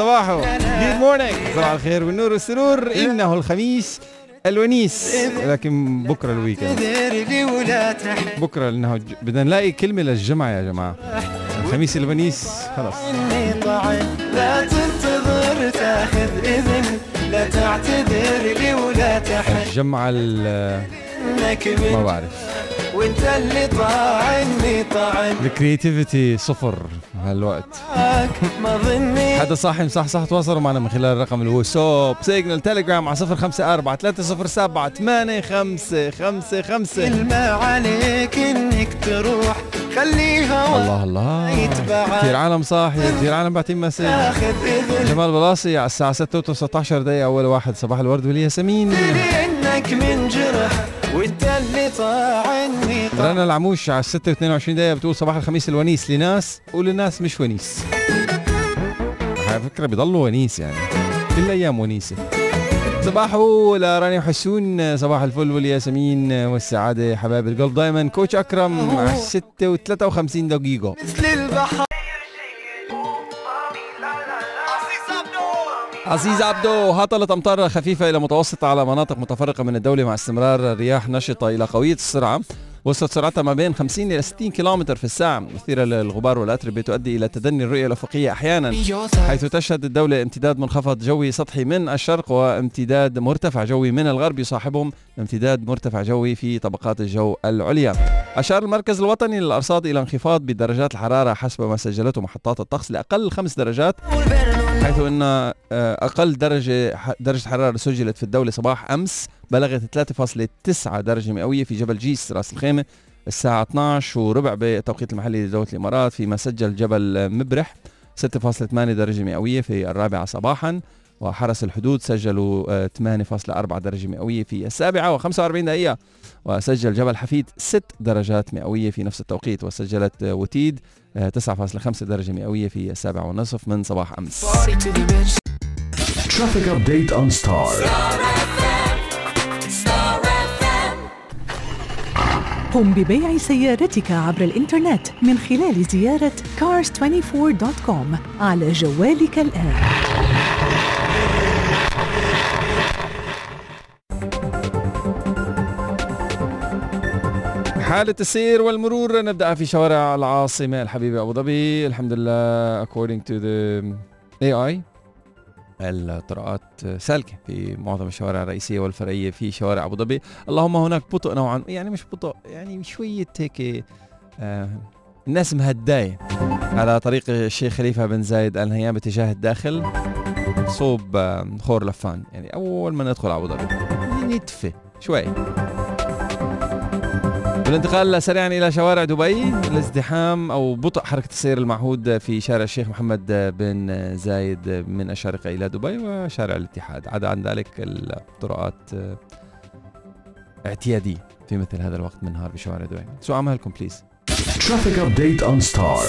صباحو. Good morning. صباح الخير والنور والسرور. إنه الخميس الونيس، لكن بكرة الويكند. بكرة لأنه بدنا نلاقي كلمة للجمعة يا جماعة. الخميس الونيس خلاص. لا تنتظر تاخذ إذن، لا تعتذر لي ولا تحن. الجمعة ما بعرف. وانت اللي طاعني طعن. الكرياتيفيتي صفر هالوقت. ما ظني حدا صاحي صح تواصلوا معنا من خلال الرقم اللي هو سوب سيجنال تيليجرام على 0543078555. ما عليك انك تروح، خليها الله كثير عالم صاحي، كثير عالم باعتين مسج. جمال بلاصي على الساعة 6:19 أول واحد. صباح الورد والياسمين. انك من جرح وانت اللي طاعني. رنا العموش على 6:22 بتقول صباح الخميس الونيس لناس ولناس مش ونيس. على فكرة بيضلوا ونيس يعني، كل الأيام ونيسة. صباحو لراني وحسون، صباح الفل والياسمين والسعادة حبايب القلب دايما. كوتش أكرم على 6:53. مثل البحر. عزيز عبدو، هطلت أمطار خفيفة إلى متوسطة على مناطق متفرقة من الدولة مع استمرار رياح نشطة إلى قوية السرعة، وصلت سرعتها ما بين 50 إلى 60 كيلومتر في الساعة، مثيرة للغبار والأتربة تؤدي إلى تدني الرؤية الأفقية أحيانا، حيث تشهد الدولة امتداد منخفض جوي سطحي من الشرق وامتداد مرتفع جوي من الغرب يصاحبهم امتداد مرتفع جوي في طبقات الجو العليا. أشار المركز الوطني للأرصاد إلى انخفاض بدرجات الحرارة حسب ما سجلته محطات الطقس لأقل 5 درجات، حيث أن أقل درجة حرارة سجلت في الدولة صباح أمس بلغت 3.9 درجة مئوية في جبل جيس راس الخيمة الساعة 12:15 بالتوقيت المحلي لدولة الإمارات، فيما سجل جبل مبرح 6.8 درجة مئوية في 4 صباحا، وحرس الحدود سجلوا 8.4 درجة مئوية في 7:45، وسجل جبل حفيد 6 درجات مئوية في نفس التوقيت، وسجلت وتيد 9.5 درجة مئوية في 7:30 من صباح أمس. Traffic update on Star. قم ببيع سيارتك عبر الإنترنت من خلال زيارة cars24.com على جوالك الآن. حالة السير والمرور نبدأ في شوارع العاصمة الحبيبة أبو ظبي. الحمد لله according to the AI الطرقات سالكة في معظم الشوارع الرئيسية والفرعية في شوارع أبو ظبي. اللهم هناك بطء نوعا، يعني مش بطء، يعني شوية هيك الناس مهداية على طريق الشيخ خليفة بن زايد آل نهيان باتجاه الداخل صوب خور لفان، يعني أول ما ندخل أبو ظبي نتفه شوي. بالانتقال سريعا إلى شوارع دبي، الازدحام أو بطء حركة السير المعهود في شارع الشيخ محمد بن زايد من الشارقة إلى دبي وشارع الاتحاد. عدا عن ذلك الطرقات اعتيادية في مثل هذا الوقت من النهار بشوارع دبي. سو عملكم بليز. Traffic update on Star.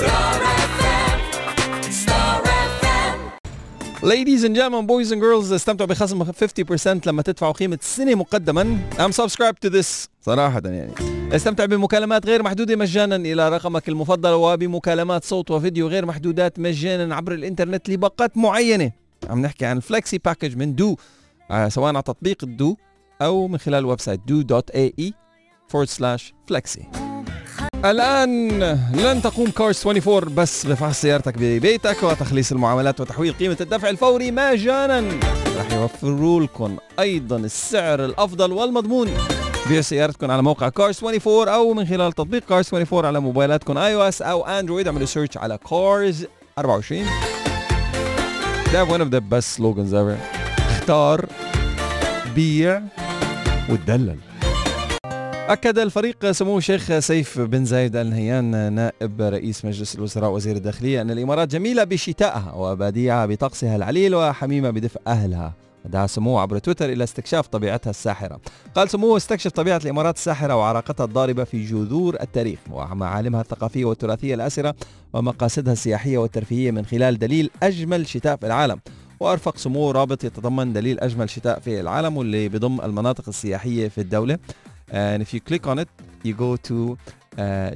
Ladies and gentlemen, boys and girls, استمتعوا بخصم 50% لما تدفعوا قيمة السنة مقدما. I'm subscribed to this صراحة يعني. استمتع بمكالمات غير محدودة مجانا إلى رقمك المفضل، وبمكالمات صوت وفيديو غير محدودات مجانا عبر الإنترنت لباقات معينة. عم نحكي عن فلكسي باكج من دو، سواء على تطبيق الدو أو من خلال ويب سايت do.ae/flexi. الآن لن تقوم كارز 24 بس بفحص سيارتك ببيتك وتخليص المعاملات وتحويل قيمة الدفع الفوري مجانا، رح يوفروا لكم أيضا السعر الأفضل والمضمون. بيعوا سيارتكم على موقع كارز 24 أو من خلال تطبيق كارز 24 على موبايلاتكم iOS أو أندرويد. اعملوا سيرش على كارز 24. They have one of the best slogans ever. اختار، بيع، وتدلل. أكد الفريق سمو الشيخ سيف بن زايد آل نهيان نائب رئيس مجلس الوزراء وزير الداخلية أن الإمارات جميلة بشتائها وبديعة بطقسها العليل وحميمة بدفء أهلها. دعا سموه عبر تويتر إلى استكشاف طبيعتها الساحرة. قال سموه استكشف طبيعة الإمارات الساحرة وعراقتها الضاربة في جذور التاريخ ومعالمها الثقافية والتراثية الآسرة ومقاصدها السياحية والترفيهية من خلال دليل أجمل شتاء في العالم. وأرفق سموه رابط يتضمن دليل أجمل شتاء في العالم واللي بضم المناطق السياحية في الدولة. And if you click on it, you go to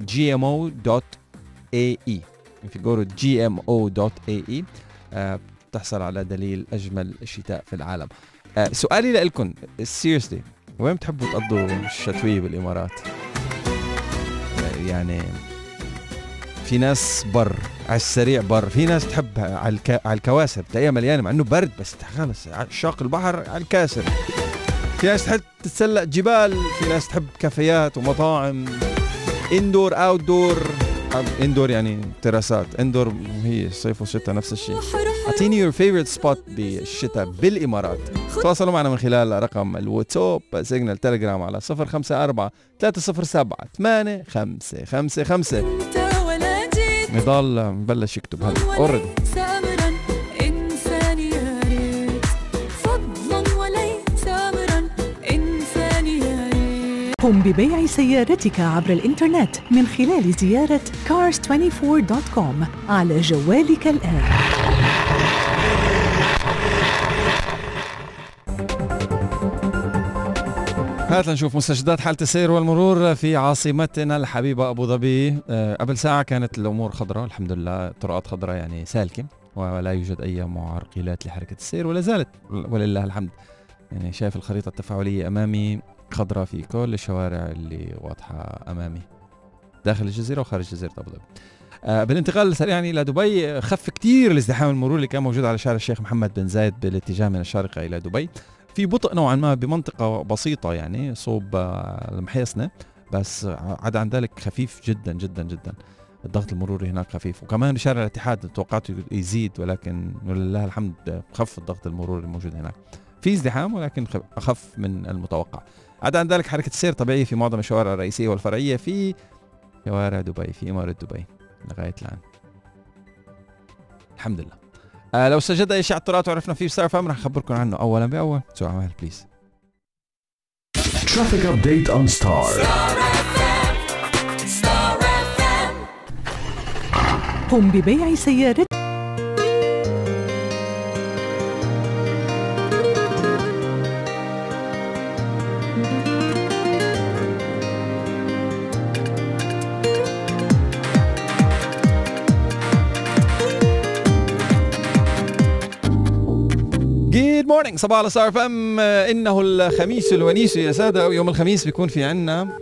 gmo.ae. If you go to gmo.ae, بتحصل على دليل أجمل شتاء في العالم. سؤالي لكم seriously، وين بتحبوا تقضوا الشتوية بالإمارات؟ يعني في ناس بر على السريع بر، في ناس بتحب على الكواسر تلاقيها مليانة مع إنه برد، بس خلص شاق البحر على الكاسر. في ناس تحب تتسلق جبال، في ناس تحب كافيات ومطاعم. اندور اوت دور، اندور يعني تراسات، اندور هي صيف وشتاء نفس الشيء. اعطيني يور فيفورت سبوت بالشتاء بالامارات. تواصلوا معنا من خلال رقم الواتساب سيجنال تليجرام على 054 307 8555. نضال مبلش يكتب هلا اوريدي. قم ببيع سيارتك عبر الإنترنت من خلال زيارة cars24.com على جوالك الآن. هات لنشوف مستجدات حالة السير والمرور في عاصمتنا الحبيبة أبو ظبي. قبل ساعة كانت الأمور خضراء الحمد لله، طرقات خضراء يعني سالكة، ولا يوجد أي معرقلات لحركة السير ولا زالت ولله الحمد. يعني شايف الخريطة التفاعلية أمامي خضراء في كل الشوارع اللي واضحة أمامي داخل الجزيرة وخارج جزيرة أبو ظبي. بالانتقال سريعا إلى دبي، خف كتير الازدحام المرور اللي كان موجود على شارع الشيخ محمد بن زايد بالاتجاه من الشارقة إلى دبي، في بطء نوعا ما بمنطقة بسيطة يعني صوب المحيصنة، بس عدا عن ذلك خفيف جدا جدا جدا. الضغط المروري هناك خفيف، وكمان شارع الاتحاد توقعته يزيد، ولكن ولله الحمد خف الضغط المروري الموجود هناك. في ازدحام ولكن أخف من المتوقع. عدا عن ذلك حركة السير طبيعية في معظم الشوارع الرئيسية والفرعية في شوارع دبي، في إمارة دبي لغاية الآن الحمد لله. لو سجد أي شيء على الطرقات وعرفنا فيه ستار فام رح نخبركم عنه أولا بأول. سو عمال بليز. Traffic update on Star. قم ببيع سيارتك. جود مورنينج، صباح على ستار فام. انه الخميس الونيس يا ساده، ويوم الخميس بيكون في عنا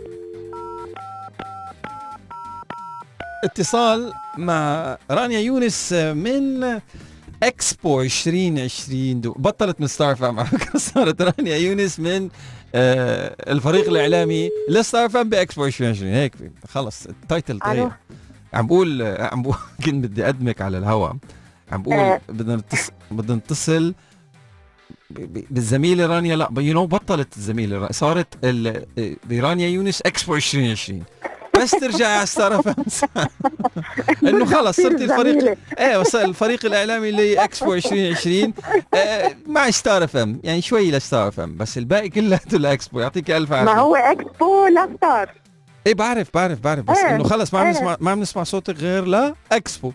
اتصال مع رانيا يونس من اكسبو 2020. بطلت من ستار فام على فكره، صارت رانيا يونس من الفريق الاعلامي لستار فام باكسبو 2020. هيك خلص التايتل تغير. عم بقول كنت بدي اقدمك على الهواء، عم بقول بدنا نتصل بالزميلة رانيا. لا بطلت الزميلة، صارت رانيا يونس اكسبو 2020، بس ترجعي على ستار فام انه خلص صرتي الفريق الفريق الاعلامي اللي اكسبو 2020 مع ستار فام، يعني شوي لستار فام بس الباقي كلياته لاكسبو. يعطيك الف عافيه. ما هو اكسبو لستار. ايه بعرف بس انه خلص ما عم نسمع صوتك غير لا اكسبو.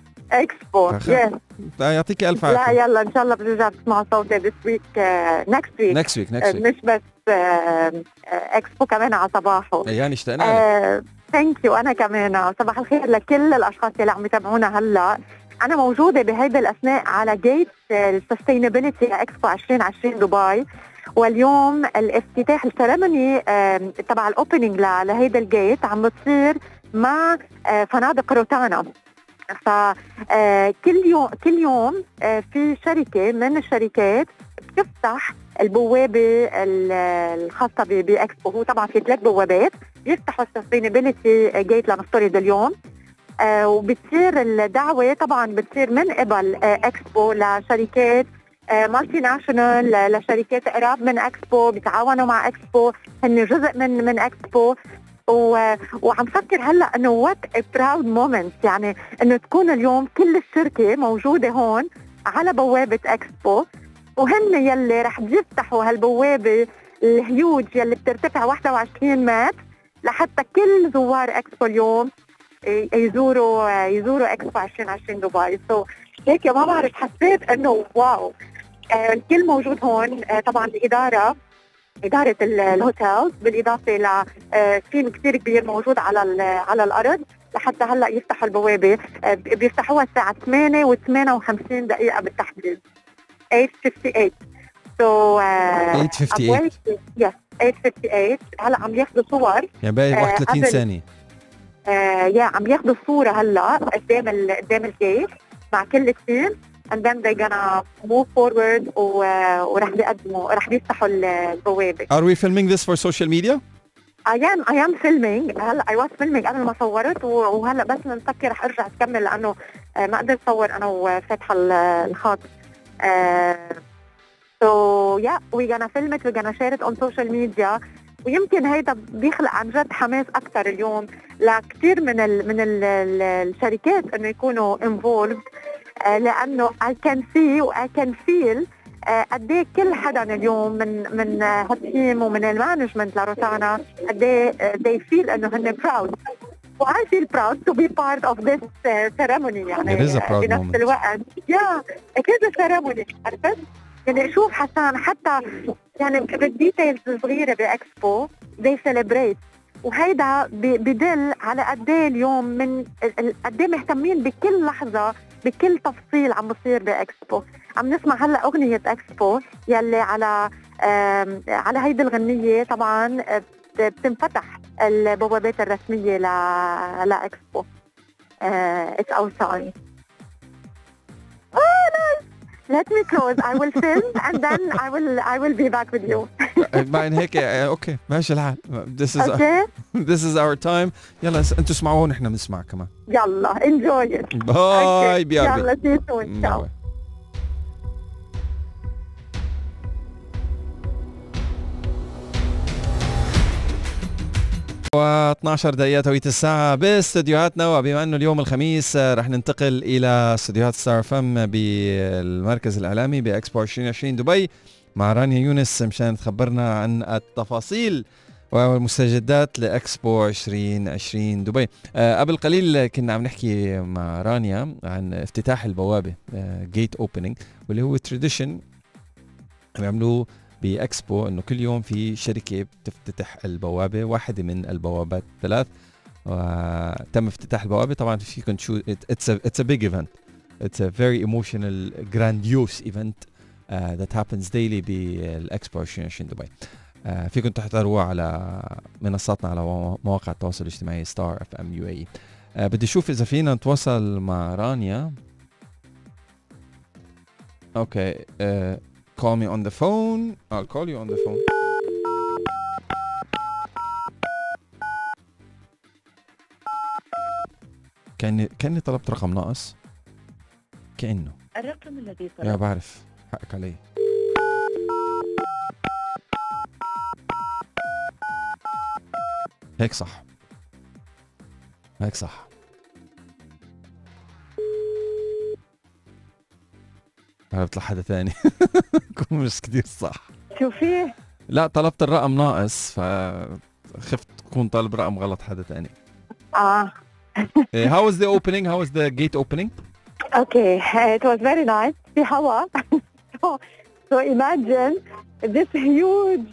يعطيك الف عافيه. لا يلا ان شاء الله بنرجع تسمعوا صوتي this week next week مش بس اكسبو كمان على صباحه، يعني اشتقنا لك. ثانك يو. انا كمان صباح الخير لكل الاشخاص اللي عم يتابعونا هلا. انا موجوده بهيدا الاثناء على جيت السستينابيلتي اكسبو 2020 دبي، واليوم الافتتاح السيرموني تبع الاوبننج لهيدا الجيت عم بتصير مع فنادق روتانا. فكل يوم في شركة من الشركات بتفتح البوابة الخاصة بإكسبو. هو طبعا في 3 بوابات يفتحوا السستينابيلتي جيت لنفترض اليوم، وبتصير الدعوة طبعا بتصير من قبل إكسبو لشركات مالتي ناشونال، لشركات قراب من إكسبو بيتعاونوا مع إكسبو، هن جزء من إكسبو. وعم فكر هلا انه وات براود مومنت، يعني انه تكون اليوم كل الشركه موجوده هون على بوابه اكسبو، وهن يلي رح يفتحوا هالبوابه الهيوج يلي بترتفع 21 متر لحتى كل زوار اكسبو اليوم يزوروا اكسبو 2020 دبي. هيك ما بعرف، حسيت انه واو. الكل موجود هون، طبعا إدارة الهوتيل بالإضافة لتيم كتير كبير موجود على الأرض لحتى هلأ يفتحوا البوابة. بيفتحوها الساعة 8:58 بالتحديد. 858. So 858 yes 858. هلا عم ياخذوا صور يعني باقي 31 قبل. ثانية. عم ياخذوا الصورة هلا قدام الجيت مع كل التيم and then they're gonna move forward ورح بيقدموا رح بيفتحوا البوابة. Are we filming this for social media? I am filming. هلا I was filming قبل ما صورت وهلا بس نفكر رح ارجع اكمل لانه ما قدرت اصور انا وفاتحة الخط. So yeah, we're gonna film it, we're gonna share it on social media. ويمكن هيدا بيخلق عن جد حماس اكثر اليوم لكثير من الشركات انه يكونوا involved. لانه I can see و I can feel قد ايه كل حدا اليوم من هالتيم ومن المانجمنت لروتانا قد ايه they feel انه هن proud. و I feel proud to be part of this ceremony. يعني It is a proud بنفس moment. الوقت it is a ceremony. عرفت؟ يعني شوف حسان حتى يعني بالديتيلز الصغيرة بإكسبو they celebrate. وهيدا بدل على قد ايه اليوم من قد ايه مهتمين بكل لحظة بكل تفصيل عم بصير بإكسبو. عم نسمع هلا أغنية إكسبو يلي على هيدي الغنية طبعا بتنفتح البوابات الرسمية لإكسبو. It's our time. Let me close. I will film and then I will be back with you. بعد هيك اوكي ماشي الحال. Okay. This is our time. يلا انتوا اسمعوا ونحن بنسمع كمان. يلا enjoy it. باي بي ار بي. يلا see you soon. Ciao. و12 دقيقة توقيت الساعة باستديوهاتنا. وبما انه اليوم الخميس رح ننتقل الى استديوهات ستار فم بالمركز الاعلامي باكسبو 2020 دبي مع رانيا يونس مشان تخبرنا عن التفاصيل والمستجدات لاكسبو 2020 دبي. قبل قليل كنا عم نحكي مع رانيا عن افتتاح البوابة جيت اوبننج واللي هو تراديشن بيعملوه باكسبو انه كل يوم في شركه بتفتتح البوابه، واحده من البوابات ثلاث وتم افتتاح البوابه. طبعا فيكم تشوف it's a big event, it's a very emotional grandiose event that happens daily بالاكسبو 2020 دبي. فيكم تحضروها على منصاتنا على مواقع التواصل الاجتماعي ستار اف ام يو اي. بدي اشوف اذا فينا نتواصل مع رانيا. اوكي call me on the phone. I'll call you on the phone. كأني طلبت رقم ناقص. كأنه الرقم الذي طلبت. يا بعرف حقك علي. هيك صح. هيك صح. عرفت لحدا ثاني. كون مش كتير صح. شو فيه؟ لا طلبت الرقم ناقص فخفت تكون طالب رقم غلط حدا ثاني. How was the opening? How was the gate opening? Okay, it was very nice. في هوا. So imagine this huge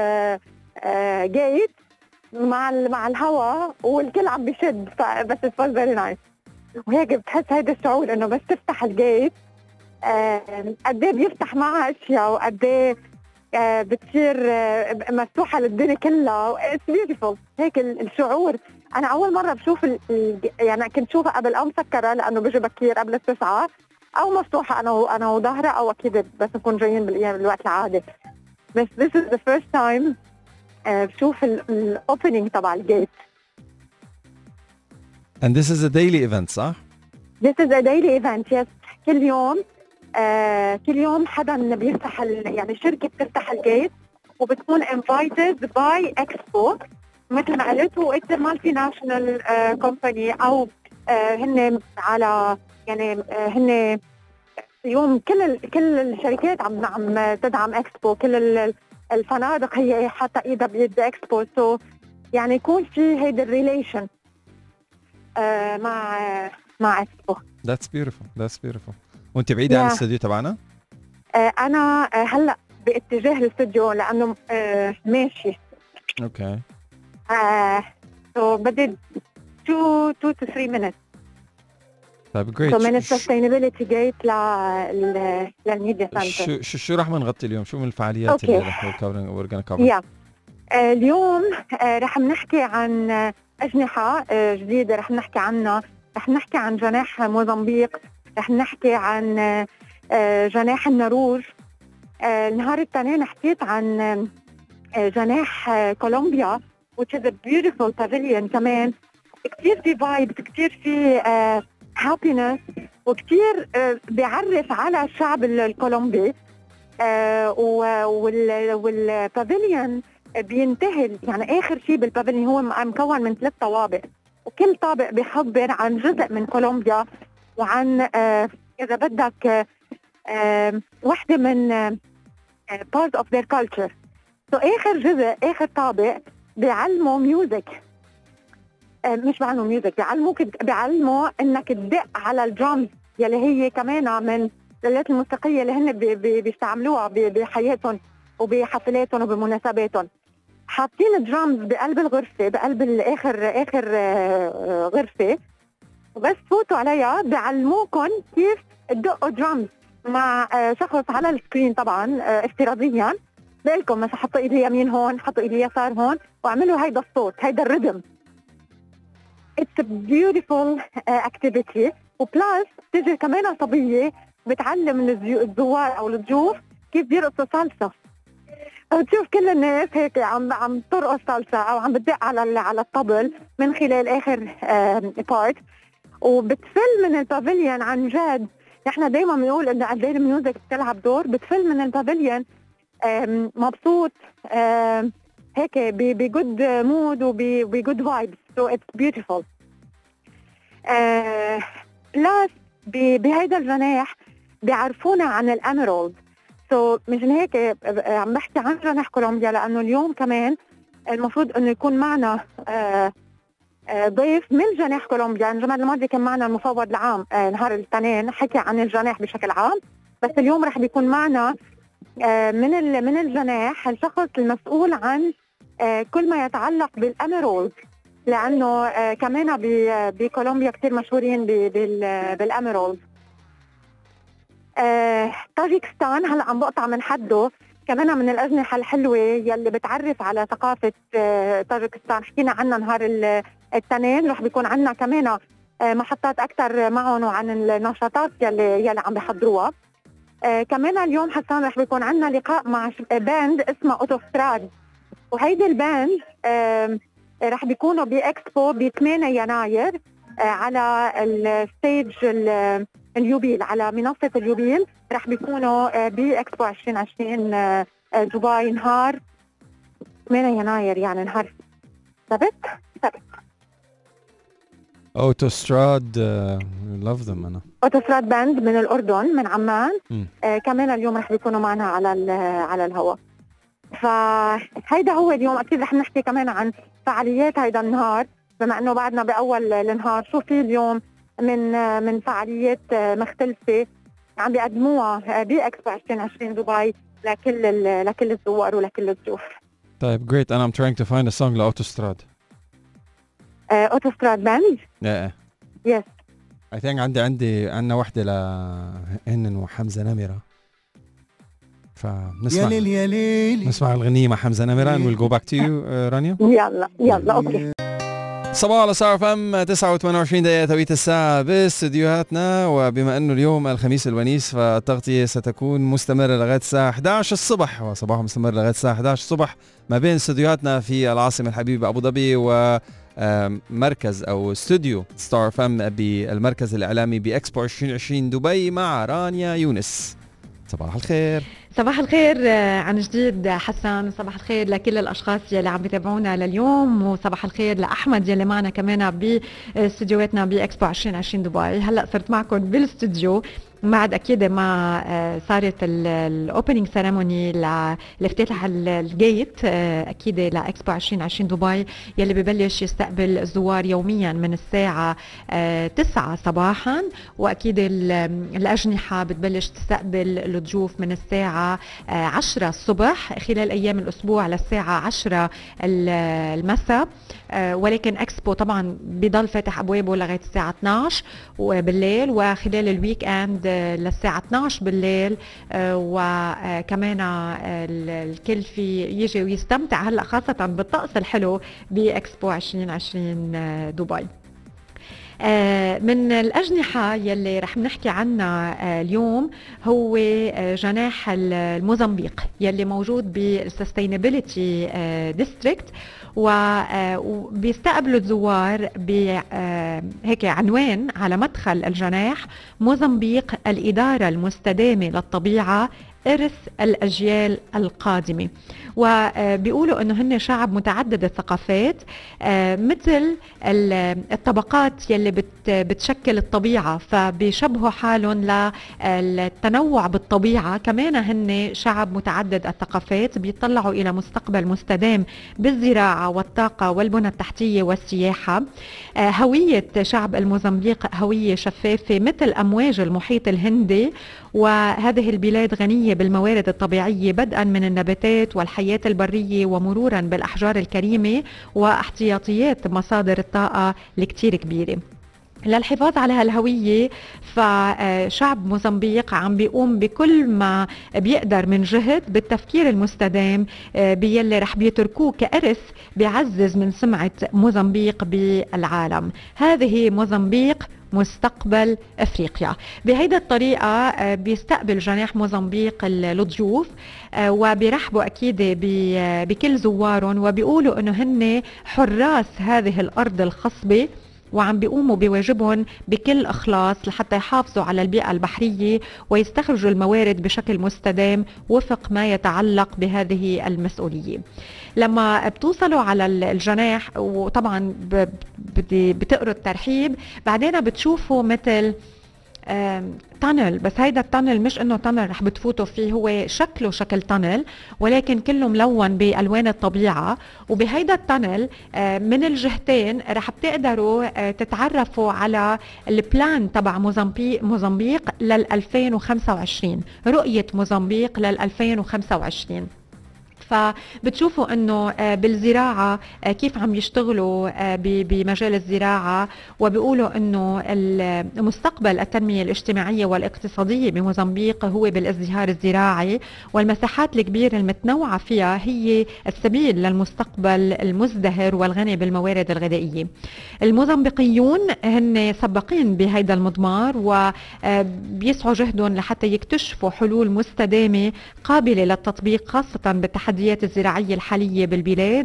gate مع الهوا والكل عم بيشد بس it was very nice. وهيك بتحس هيدا الشعور انه بس تفتح الجيت قد ايه بيفتح معها اشياء وقد ايه بتصير مفتوحه للدنيا كلها. It's beautiful. هيك الشعور. انا اول مره بشوف يعني كنت شوفها قبل او مسكره لانه بيجي بكير قبل 9 او مفتوحه انا وظهرها او اكيد بس نكون جايين بالوقت العادي. بس this is the first time بشوف الاوبننج تبع الجيت. And this is a daily event صح؟ This is a daily event, yes. كل يوم حدا بيفتح يعني شركة بتفتح الجيت وبتكون invited by Expo مثل ما قلت. it's a multinational company أو هن على يعني هن اليوم كل الشركات عم تدعم Expo. كل الفنادق هي حتى إيدها بيد Expo. so يعني يكون في هيدا الريليشن مع Expo. That's beautiful. وانت بعيدة عن الاستوديو تبعنا؟ انا هلا باتجاه الاستوديو لانه ماشي. اوكي. so بدي 2 to 3 minutes. طيب جريت. من السستينابيلتي جيت للميديا سنتر. شو رح نغطي اليوم؟ شو من الفعاليات اللي رح نكفر؟ اليوم رح نحكي عن أجنحة جديدة رح نحكي عنها. رح نحكي عن جناح موزمبيق، رح نحكي عن جناح النروج. النهار الثاني حكيت عن جناح كولومبيا which is a beautiful pavilion كمان. كتير في vibes، كتير في happiness، وكتير بيعرف على الشعب الكولومبي. والبافيليون بينتهي يعني آخر شيء بالبافيليون هو مكون من 3 طوابق، وكل طابق بيخبر عن جزء من كولومبيا وعن إذا بدك واحدة من part of their culture. آخر جزء، آخر طابق بيعلموا ميوزك، مش بيعلموا ميوزك، بيعلموا إنك تدق على الدرامز يلي هي كمان من الآلات الموسيقية اللي هن بيستعملوها بحياتهم وبحفلاتهم وبمناسباتهم. حاطين درامز بقلب الغرفة، بقلب آخر غرفة، وبس فوتوا عليها بيعلموكم كيف تدقوا درامز مع شخص على السكرين طبعا افتراضيا. بالكم مثلا حطوا ايدي يمين هون، حطوا ايدي يسار هون، واعملوا هيدا الصوت، هيدا الريتم. It's a beautiful activity. وبلاس تيجي كمان صبية بتعلم الزوار او الضيوف كيف بيرقصوا صلصة. وتشوف كل الناس هيك عم ترقص صلصة او عم بتدق على الطبل من خلال اخر بارت. وبتفل من البافيليون عن جد. نحن دايما بنقول انه قد ايه الميوزك بتلعب دور. بتفل من البافيليون مبسوط هيك بجود مود وبجود فايبس. سو اتس بيوتيفول. بلاس بهيدا الجناح بيعرفونا عن الاميرالد. سو مشان هيك عم بحكي عن جناح كولومبيا، لانه اليوم كمان المفروض انه يكون معنا ضيف من جناح كولومبيا. الجمعة الماضية كان معنا المفوض العام نهار الاثنين حكي عن الجناح بشكل عام، بس اليوم رح بيكون معنا من الجناح الشخص المسؤول عن كل ما يتعلق بالاميرالد، لانه كمان بكولومبيا كثير مشهورين بالاميرالد. طاجيكستان هلا عم بقطع من حده، كمان من الأجنحة الحلوة يلي بتعرف على ثقافة طاجيكستان. حكينا عنها نهار الاثنين. رح بيكون عنا كمان محطات أكثر معهم وعن النشاطات يلي عم بيحضروها. كمان اليوم حسان رح بيكون عنا لقاء مع باند اسمه أوتوستراد، وهيدي الباند رح بيكونوا بإكسبو ب 8 يناير على الستيج اليوبيل، على منصة اليوبيل. رح بيكونوا بإكسبو 2020 دبي نهار 8 يناير، يعني نهار سبت. أوتوستراد love them. أنا أوتوستراد باند من الأردن، من عمان. كمان اليوم رح بيكونوا معنا على الهواء. فهيدا هو اليوم. أكيد رح نحكي كمان عن فعاليات هيدا النهار، بما أنه بعدنا بأول النهار. شو في اليوم من فعاليات مختلفة عم بيقدموها بإكسبو 2020 دبي لكل الزوار ولكل الضيوف. طيب great. أنا I'm trying to find a song لأوتوستراد. أوتوستراد باند؟ Yes. I think عندنا واحدة لهن وحمزة نمرة، فنسمع نسمع الغنية مع حمزة نمرة. and we'll go back to you رانيا. يلا أوكي. صباح على صار فم 29 دقيقة توقيت الساعة باستديوهاتنا. وبما أنه اليوم الخميس الونيس فالتغطية ستكون مستمرة لغاية الساعة 11 الصبح، وصباح مستمر لغاية الساعة 11 الصبح ما بين استديوهاتنا في العاصمة الحبيبة أبو ظبي ومركز أو استوديو ستار فم بالمركز الإعلامي بإكسبو 2020 دبي مع رانيا يونس. صباح الخير. صباح الخير عن جديد حسن. صباح الخير لكل الأشخاص يلي عم بيتابعونا لليوم، وصباح الخير لأحمد يلي معنا كمان باستديوهاتنا بإكسبو 2020 دبي. هلأ صرت معكم بالاستوديو بعد أكيد ما صارت الأوبننج سيريموني لافتتاح الجيت أكيد لإكسبو 2020 دبي يلي ببلش يستقبل الزوار يوميا من الساعة 9 صباحا، وأكيد الأجنحة بتبلش تستقبل الضيوف من الساعة للساعة 10 الصبح خلال أيام الأسبوع للساعة 10 المساء، ولكن اكسبو طبعا بضل فاتح أبوابه لغاية الساعة 12 بالليل، وخلال الويك اند للساعة 12 بالليل. وكمان الكل في يجي ويستمتع هلا خاصة بالطقس الحلو بإكسبو 2020 دبي. من الأجنحة يلي رح نحكي عنها اليوم هو جناح الموزمبيق يلي موجود بالسستينابيليتي ديستريكت، وبيستقبلوا الزوار هيك عنوان على مدخل الجناح: موزمبيق الإدارة المستدامة للطبيعة، إرث الأجيال القادمة. وبيقولوا أنه هن شعب متعدد الثقافات، مثل الطبقات يلي بتشكل الطبيعة، فبيشبهوا حالهم للتنوع بالطبيعة. كمان هن شعب متعدد الثقافات بيطلعوا إلى مستقبل مستدام بالزراعة والطاقة والبنى التحتية والسياحة. هوية شعب الموزمبيق هوية شفافة مثل أمواج المحيط الهندي، وهذه البلاد غنية بالموارد الطبيعية بدءا من النباتات والحياة البرية ومرورا بالأحجار الكريمة واحتياطيات مصادر الطاقة الكتير كبيرة. للحفاظ على هالهوية فشعب موزمبيق عم بيقوم بكل ما بيقدر من جهد بالتفكير المستدام بيلي رح بيتركوه كإرث بيعزز من سمعة موزمبيق بالعالم. هذه موزمبيق مستقبل افريقيا. بهيدا الطريقه بيستقبل جناح موزمبيق الضيوف، وبيرحبوا اكيد بكل زوارهم، وبيقولوا انه هن حراس هذه الارض الخصبه، وعم بيقوموا بواجبهم بكل إخلاص لحتى يحافظوا على البيئة البحرية ويستخرجوا الموارد بشكل مستدام وفق ما يتعلق بهذه المسؤولية. لما بتوصلوا على الجناح وطبعا بتقروا الترحيب، بعدين بتشوفوا مثل تانل، بس هيدا التانل مش انه تانل رح بتفوتوا فيه، هو شكله شكل تانل ولكن كله ملون بالوان الطبيعه. وبهيدا التانل من الجهتين رح بتقدروا تتعرفوا على البلان تبع موزمبيق لل 2025، رؤيه موزمبيق لل 2025. فبتشوفوا انه بالزراعة كيف عم يشتغلوا بمجال الزراعة، وبيقولوا انه مستقبل التنمية الاجتماعية والاقتصادية بموزمبيق هو بالازدهار الزراعي، والمساحات الكبيرة المتنوعة فيها هي السبيل للمستقبل المزدهر والغني بالموارد الغذائية. الموزمبيقيون هن سباقين بهيدا المضمار، وبيسعوا جهدهم لحتى يكتشفوا حلول مستدامة قابلة للتطبيق خاصة بالتحديات الزراعية الحالية بالبلاد،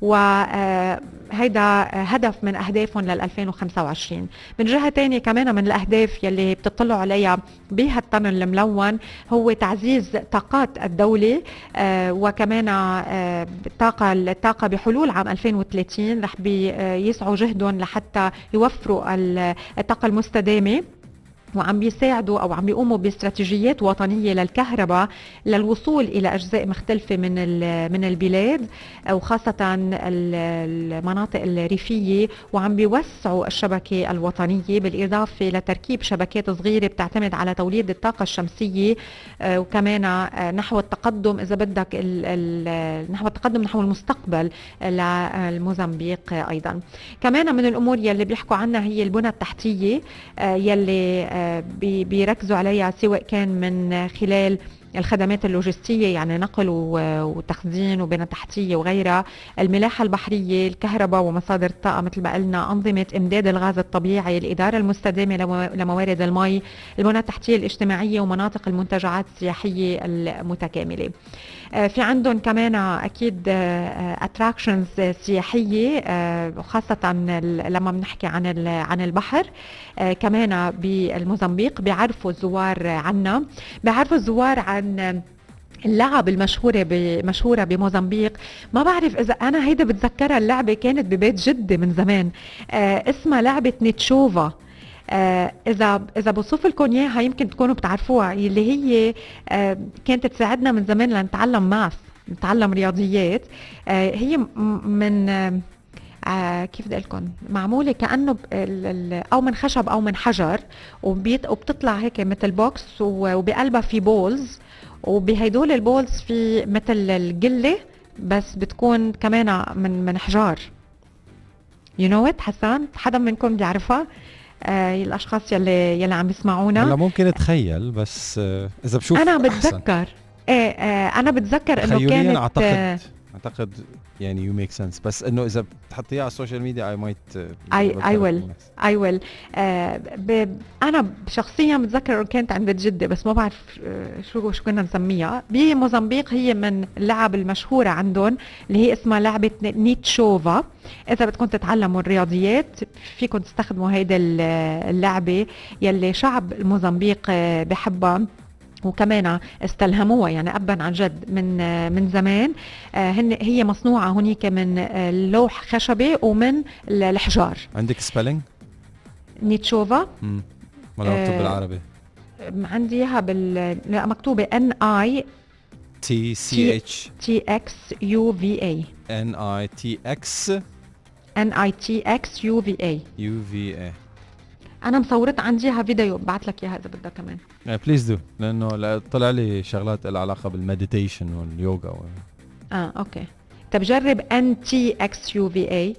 وهيدا هدف من أهدافهم لل 2025. من جهة تانية كمان من الأهداف يلي بتطلعوا عليها بهالتنل الملون هو تعزيز طاقات الدولة، وكمان الطاقة بحلول عام 2030 رح بيسعوا جهدهم لحتى يوفروا الطاقة المستدامة، وعم بيساعدوا او عم بيقوموا باستراتيجيات وطنيه للكهرباء للوصول الى اجزاء مختلفه من البلاد، وخاصه المناطق الريفيه، وعم بيوسعوا الشبكه الوطنيه بالاضافه لتركيب شبكات صغيره بتعتمد على توليد الطاقه الشمسيه، وكمان نحو التقدم اذا بدك نحو التقدم نحو المستقبل للموزمبيق. ايضا كمان من الامور يلي بيحكوا عنها هي البنى التحتيه يلي بيركزوا عليها، سواء كان من خلال الخدمات اللوجستية يعني نقل وتخزين وبنى تحتية وغيرها، الملاحة البحرية، الكهرباء ومصادر الطاقة مثل ما قلنا، أنظمة إمداد الغاز الطبيعي، الإدارة المستدامة لموارد المي، البنى التحتية الاجتماعية، ومناطق المنتجعات السياحية المتكاملة. في عندهم كمان أكيد اتراكشنز سياحية، خاصة لما بنحكي عن البحر. كمان بالموزمبيق بيعرفوا الزوار عنا، بيعرفوا الزوار عن اللعب مشهورة بموزمبيق. ما بعرف إذا أنا هيدا بتذكرها، اللعبة كانت ببيت جدي من زمان، اسمها لعبة نيتشوفا. إذا بوصف لكم إياها يمكن تكونوا بتعرفوها، اللي هي كانت تساعدنا من زمان لنتعلم ماث، نتعلم رياضيات. هي من كيف بدي لكم، معموله كانه او من خشب او من حجر، وبتطلع هيك مثل بوكس، وبقلبها في بولز، وبهدول البولز في مثل القله بس بتكون كمان من حجار. يو نو ات حسان؟ حدا منكم بيعرفها؟ الاشخاص يلي عم يسمعونا. هلا ممكن اتخيل، بس اذا بشوف انا بتذكر انا بتذكر انه كانت اعتقد يعني يو ميك سنس، بس انه اذا بتحطيها على السوشيال ميديا اي ويل انا شخصيا بتذكر انه كانت عند جدي، بس ما بعرف شو كنا نسميها. بموزمبيق هي من اللعب المشهوره عندهم اللي هي اسمها لعبه نيتشوفا. اذا بدكم تتعلموا الرياضيات فيكم تستخدموا هيدا اللعبه يلي شعب الموزمبيق بحبها، وكمان استلهموها يعني أبا عن جد من زمان. هي مصنوعة هنيك من لوح خشبي ومن الحجار. عندك سبيلينج؟ نيتشوفا ولا مكتوب بالعربي؟ عندي اياها مكتوبة NITXUVA. NITXUVA. انا مصورت عنديها فيديو، بعت لك اياها اذا بدك كمان. بليز دو، لانه طلع لي شغلات لها علاقه بالمديتيشن واليوغا اوكي. طب جرب NTXUVA.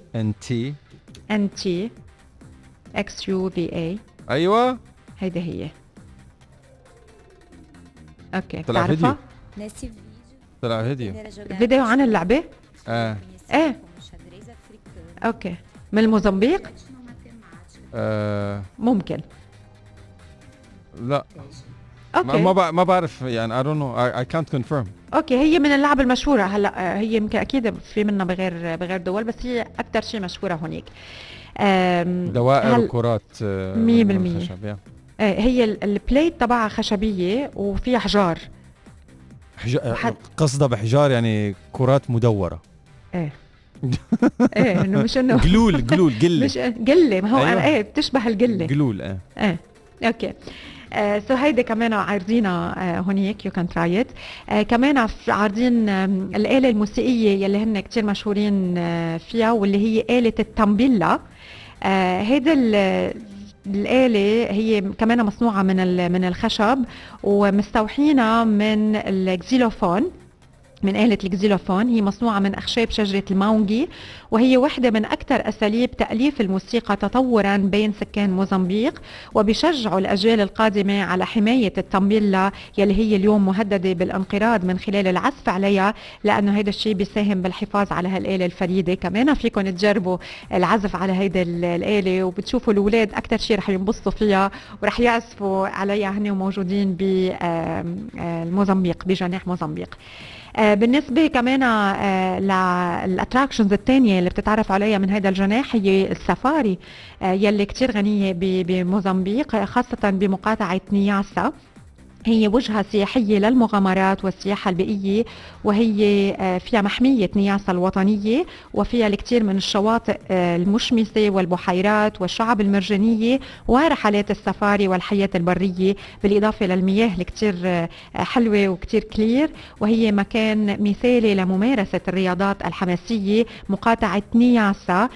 NTXUVA. ايوه هيدا هي. اوكي طلع فيديو. طلع فيديو عن اللعبه. ايه اوكي. من الموزمبيق. ممكن. لا اوكي. ما بعرف يعني I don't know I can't confirm. اوكي هي من اللعب المشهوره. هلا هي يمكن اكيد في منها بغير دول، بس هي اكثر شيء مشهوره هونيك. دوائر وكرات 100%. هي البليت تبعها خشبيه وفيها حجار. قصدها بحجار يعني كرات مدوره. ايه انه مش انه قلول قله. مش قله، ما هو أيوة. بتشبه القله قلول. اوكي. سو هيدا كمان عارضينها هونيك، يو كان تراي ات. كمان عارضين الآلة الموسيقية يلي هن كتير مشهورين فيها، واللي هي آلة التامبيلا. هيدا الآلة هي كمان مصنوعة من الخشب، ومستوحينها من الكزيلوفون، من آلة الكزيلوفون. هي مصنوعة من أخشاب شجرة الماونجي، وهي واحدة من أكثر أساليب تأليف الموسيقى تطوراً بين سكان موزمبيق، وبيشجعوا الأجيال القادمة على حماية التامبيلا يلي هي اليوم مهددة بالانقراض من خلال العزف عليها، لأنه هيدا الشيء بيساهم بالحفاظ على هالآلة الفريدة. كمان فيكم تجربوا العزف على هيدا الآلة، وبتشوفوا الأولاد أكثر شيء رح ينبسطوا فيها ورح يعزفوا عليها هن وموجودين بالموزمبيق بجناح موزمبيق. بالنسبة كمان للأتراكشنز الثانية اللي بتتعرف عليها من هذا الجناح هي السفاري يلي كتير غنية بموزمبيق، خاصة بمقاطعة نياسا. هي وجهة سياحية للمغامرات والسياحة البيئية، وهي فيها محمية نياسا الوطنية، وفيها الكثير من الشواطئ المشمسة والبحيرات والشعب المرجانية ورحلات السفاري والحياة البرية، بالإضافة للمياه الكثير حلوة وكثير كلير. وهي مكان مثالي لممارسة الرياضات الحماسية، مقاطعة نياسا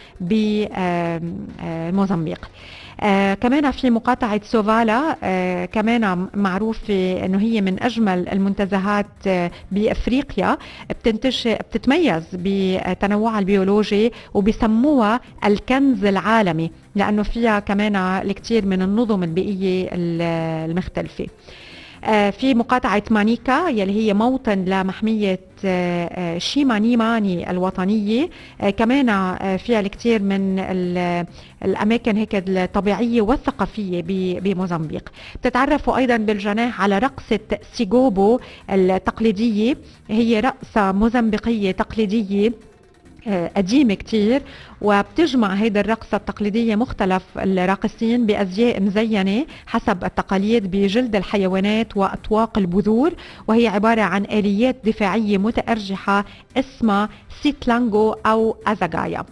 بموزمبيق. كمان في مقاطعة سوفالا، كمان معروفة انه هي من اجمل المنتزهات بافريقيا، بتتميز بتنوعها البيولوجي، وبيسموها الكنز العالمي لانه فيها كمان الكثير من النظم البيئية المختلفة. في مقاطعة مانيكا يلي هي موطن لمحمية شيمانيماني الوطنية، كمان فيها الكثير من الأماكن هيك الطبيعية والثقافية بموزمبيق. بتتعرفوا أيضا بالجناح على رقصة سيغوبو التقليدية، هي رقصة موزمبيقية تقليدية قديمة كتير، وبتجمع هيدا الرقصة التقليدية مختلف الراقصين بأزياء مزينة حسب التقاليد بجلد الحيوانات وأطواق البذور، وهي عبارة عن آليات دفاعية متأرجحة اسمها سيتلانغو أو أزاغايا.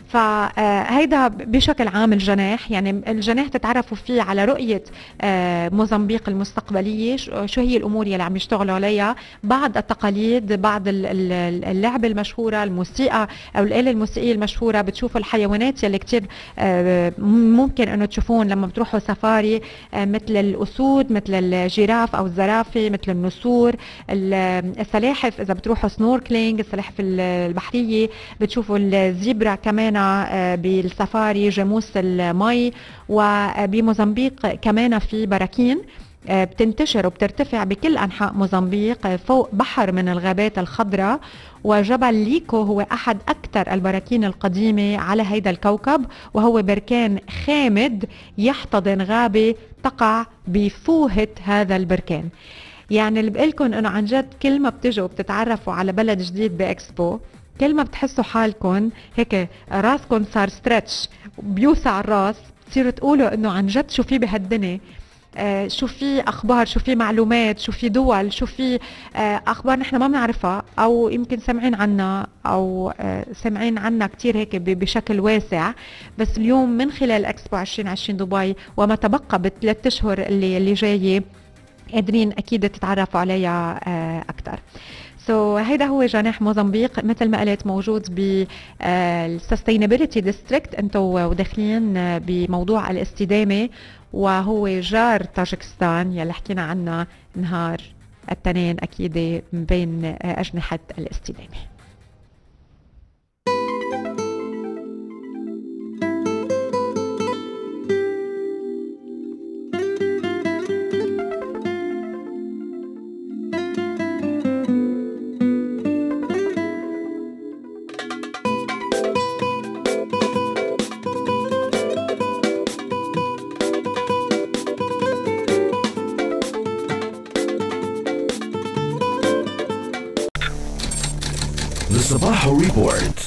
فهيدا بشكل عام الجناح. يعني الجناح تتعرفوا فيه على رؤية موزمبيق المستقبلية، شو هي الأمور يلي عم يشتغلوا عليها، بعض التقاليد، بعض اللعبة المشهورة، الموسيقى أو الآلة الموسيقية المشهورة. بتشوفوا الحيوانات يلي كتير ممكن أنه تشوفون لما بتروحوا سفاري، مثل الأسود، مثل الجيراف أو الزرافة، مثل النسور، السلاحف إذا بتروحوا سنوركلينج، السلاحف البحرية. بتشوفوا الزيبرا كمان بالسفاري، جاموس المي. وبموزمبيق كمان في براكين بتنتشر وبترتفع بكل أنحاء موزمبيق فوق بحر من الغابات الخضراء. وجبل ليكو هو أحد أكثر البراكين القديمة على هيدا الكوكب، وهو بركان خامد يحتضن غابة تقع بفوهة هذا البركان. يعني اللي بقلكن انه عن جد كل ما بتجوا وبتتعرفوا على بلد جديد باكسبو، كل ما بتحسوا حالكم هيك راسكم صار ستريتش، بيوسع الراس، بتصيروا تقولوا انه عن جد شو في بهالدنيا، شو في اخبار، شو في معلومات، شو في دول، شو في اخبار نحن ما بنعرفها او يمكن سمعين عنها او سمعين عنها كتير هيك بشكل واسع. بس اليوم من خلال اكسبو 2020 دبي وما تبقى ب3 اشهر اللي جايه قادرين اكيد تتعرفوا عليها اكثر. هيدا هو جناح موزمبيق، مثل ما قلت موجود بالسستينابيليتي ديستريكت، انتوا وداخلين بموضوع الاستدامه، وهو جار طاجكستان يلي حكينا عنها نهار التنين اكيد بين اجنحه الاستدامه. صباح ريبورت.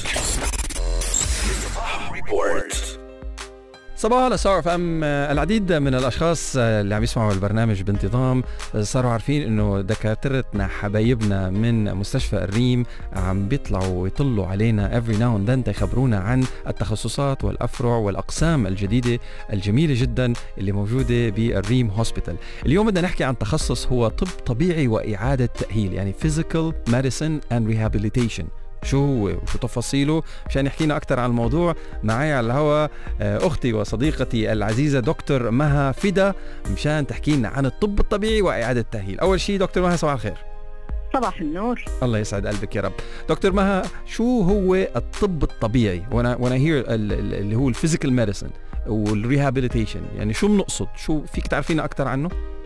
صباح على ستار اف ام. العديد من الاشخاص اللي عم يسمعوا البرنامج بانتظام صاروا عارفين انه دكاترتنا حبايبنا من مستشفى الريم عم بيطلعوا ويطلوا علينا every now and then تخبرونا عن التخصصات والافرع والاقسام الجديده الجميله جدا اللي موجوده بالريم هوسبيتال. اليوم بدنا نحكي عن تخصص هو طب طبيعي واعاده تاهيل، يعني physical medicine and rehabilitation. شو هو وشو تفاصيله؟ مشان يحكينا أكثر عن الموضوع معي على الهواء أختي وصديقتي العزيزة دكتور مها فدا، مشان تحكينا عن الطب الطبيعي وإعادة التأهيل. أول شيء دكتور مها، صباح الخير. صباح النور. الله يسعد قلبك يا رب. دكتور مها، شو هو الطب الطبيعي؟ وانا هير اللي هو الفيزيكال ميديسن والريهابيليتيشن، يعني شو بنقصد؟ شو فيك تعرفينا أكثر عنه؟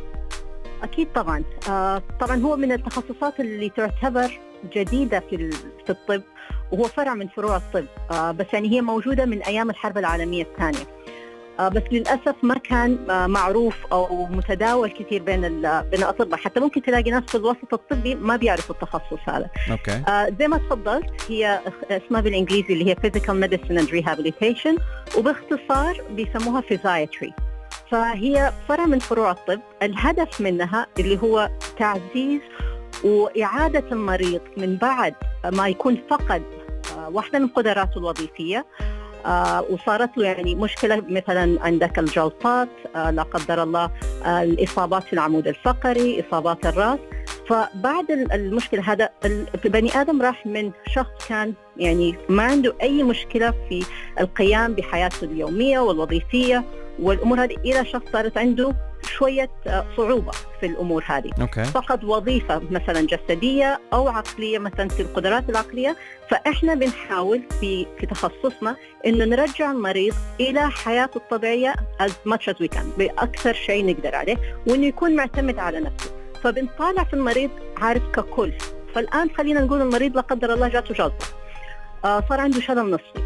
أكيد طبعا. طبعا هو من التخصصات اللي تعتبر جديدة في الطب، وهو فرع من فروع الطب، بس يعني هي موجودة من أيام الحرب العالمية الثانية، بس للأسف ما كان معروف أو متداول كثير بين الأطباء. حتى ممكن تلاقي ناس في الوسط الطبي ما بيعرفوا التخصص هذا. زي ما تفضلت، هي اسمها بالإنجليزي اللي هي Physical Medicine and Rehabilitation، وباختصار بيسموها Physiatry. فهي فرع من فروع الطب. الهدف منها اللي هو تعزيز وإعادة المريض من بعد ما يكون فقد واحدة من قدراته الوظيفية، وصارت له يعني مشكلة، مثلا عندك الجلطات، لا قدر الله الإصابات في العمود الفقري، إصابات الرأس. فبعد المشكلة هذا البني آدم راح من شخص كان يعني ما عنده أي مشكلة في القيام بحياته اليومية والوظيفية والأمور هذه، إلى شخص صارت عنده شوية صعوبة في الأمور هذه. فقد وظيفة مثلا جسدية أو عقلية، مثلا في القدرات العقلية. فإحنا بنحاول في تخصصنا إنه نرجع المريض إلى حياته الطبيعية as much as we can، بأكثر شيء نقدر عليه، وإنه يكون معتمد على نفسه. فبنطالع في المريض عارف ككل. فالآن خلينا نقول المريض لا قدر الله جاته جلطة، صار عنده شلل نصفي.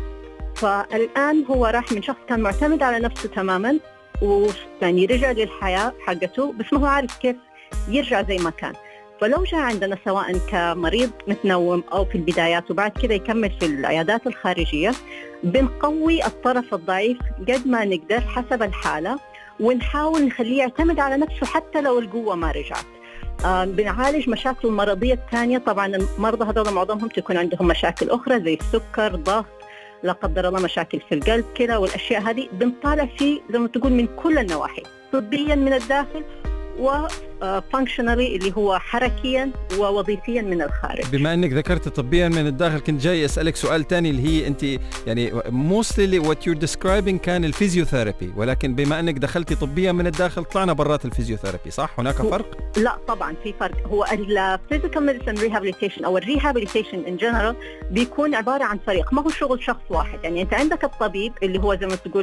فالآن هو راح من شخص كان معتمد على نفسه تماماً، ويعني رجع للحياة حقته، بس ما هو عارف كيف يرجع زي ما كان. فلو جاء عندنا سواء كمريض متنوم أو في البدايات وبعد كده يكمل في العيادات الخارجية، بنقوي الطرف الضعيف قد ما نقدر حسب الحالة، ونحاول نخليه يعتمد على نفسه حتى لو القوة ما رجعت. بنعالج مشاكل المرضية الثانية. طبعا المرضى هذول معظمهم تكون عندهم مشاكل أخرى زي السكر، ضغط، لا قدر الله مشاكل في القلب كده والأشياء هذه، بنطالع فيه زي ما تقول من كل النواحي، طبيا من الداخل وفانكشنالي اللي هو حركيا ووظيفيا من الخارج. بما انك ذكرت طبيا من الداخل، كنت جاي اسالك سؤال تاني اللي هي انت يعني mostly what you're describing كان الفيزيوثيرابي، ولكن بما انك دخلتي طبيا من الداخل طلعنا برات الفيزيوثيرابي، صح؟ هناك فرق؟ لا طبعا في فرق. هو الفيزيكال ميديسن ريهابيليتيشن او الريهابيليتيشن ان جنرال بيكون عباره عن فريق، ما هو شغل شخص واحد. يعني انت عندك الطبيب اللي هو زي ما تقول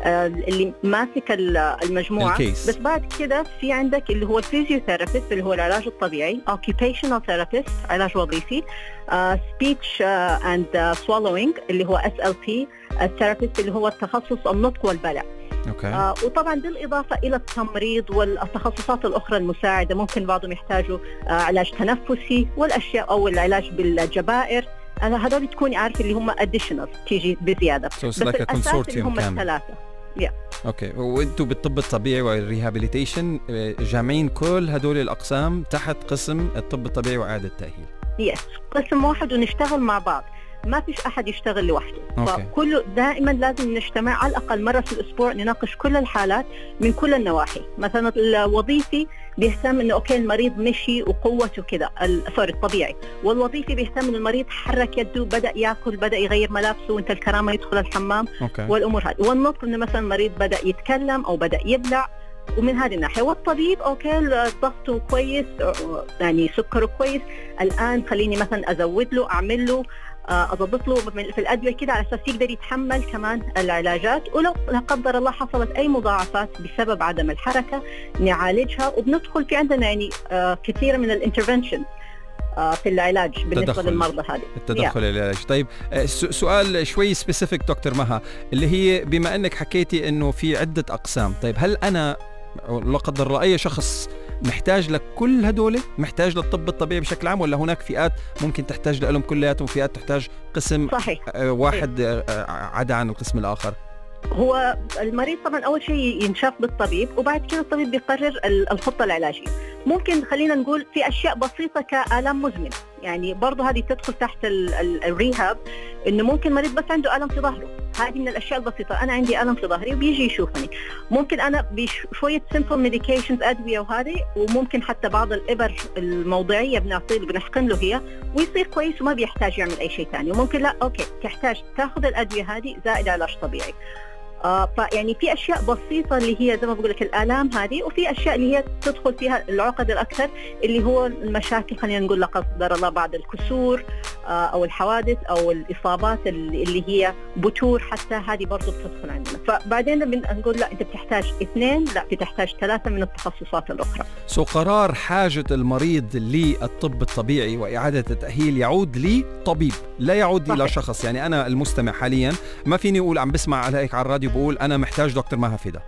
اللي ماسك المجموعه الكيس. بس بعد كده في عندك اللي هو الفيزيوثيرابيست اللي هو العلاج الطبيعي، occupational therapist علاج وظيفي، speech and swallowing اللي هو SLP الثيرابيست اللي هو التخصص النطق والبلع. وطبعا بالإضافة إلى التمريض والتخصصات الأخرى المساعدة، ممكن بعضهم يحتاجوا علاج تنفسي والأشياء أو العلاج بالجبائر، هذول تكوني عارف اللي هم additional تيجي بزيادة. بس الأساس اللي هم الثلاثة. اوكي، وانتم بالطب الطبيعي والريهابيليتيشن جامعين كل هدول الأقسام تحت قسم الطب الطبيعي وإعادة التأهيل؟ قسم واحد ونشتغل مع بعض، ما فيش أحد يشتغل لوحده. فكله دائما لازم نجتمع على الأقل مرة في الأسبوع، نناقش كل الحالات من كل النواحي. مثلا الوظيفي بيهتم إنه أوكي المريض مشي وقوته كده، الطبيعي، والوظيفي بيهتم إنه المريض حرك يده، بدأ يأكل، بدأ يغير ملابسه، وانت الكرامة يدخل الحمام والأمور هذه. والنطق إنه مثلا المريض بدأ يتكلم أو بدأ يبلع، ومن هذه الناحية. والطبيب أوكي ضغطه كويس، يعني سكره كويس، الآن خليني مثلا أزود له، أعمل له أضبط له في الأدوية كده على أساس يقدر يتحمل كمان العلاجات. ولو لا قدر الله حصلت أي مضاعفات بسبب عدم الحركة نعالجها، وبندخل في عندنا يعني كثير من الانترفنشن في العلاج بالنسبة للمرضى هذه. التدخل العلاج. طيب سؤال شوي سبيسيفيك دكتور مها، اللي هي بما أنك حكيتي أنه في عدة أقسام، طيب هل أنا لا قدر الله أي شخص محتاج لكل هدول، محتاج للطب الطبيعي بشكل عام، ولا هناك فئات ممكن تحتاج لهم كلياتهم وفئات تحتاج قسم واحد عدا عن القسم الآخر؟ هو المريض طبعا أول شيء ينشاف بالطبيب، وبعد كده الطبيب بيقرر الخطة العلاجية. ممكن خلينا نقول في أشياء بسيطة كآلام مزمنة، يعني برضو هذه تدخل تحت الريهاب، إنه ممكن مريض بس عنده ألم في ظهره، هذه من الأشياء البسيطة. أنا عندي ألم في ظهري وبيجي يشوفني، ممكن أنا بشوية simple medications أدوية وهذه، وممكن حتى بعض الإبر الموضعية بنعطيه بنحقن له هي ويصير كويس وما بيحتاج يعمل أي شيء ثاني. وممكن لا أوكي تحتاج تأخذ الأدوية هذه زائد علاج طبيعي. فيعني في أشياء بسيطة اللي هي زي ما بقول لك الآلام هذه، وفي أشياء اللي هي تدخل فيها العقد الأكثر اللي هو المشاكل، خلينا نقول لا قدر الله بعد الكسور أو الحوادث أو الإصابات اللي هي بتور، حتى هذه برضو بتدخل عندنا. فبعدين بنقول لا أنت بتحتاج 2، لا بتحتاج 3 من التخصصات الأخرى. قرار حاجة المريض للطب الطبيعي وإعادة التأهيل يعود لطبيب، لا يعود إلى شخص. يعني أنا المستمع حاليا ما فيني أقول عم بسمع عليك على الراديو بقول أنا محتاج دكتور مها فدا.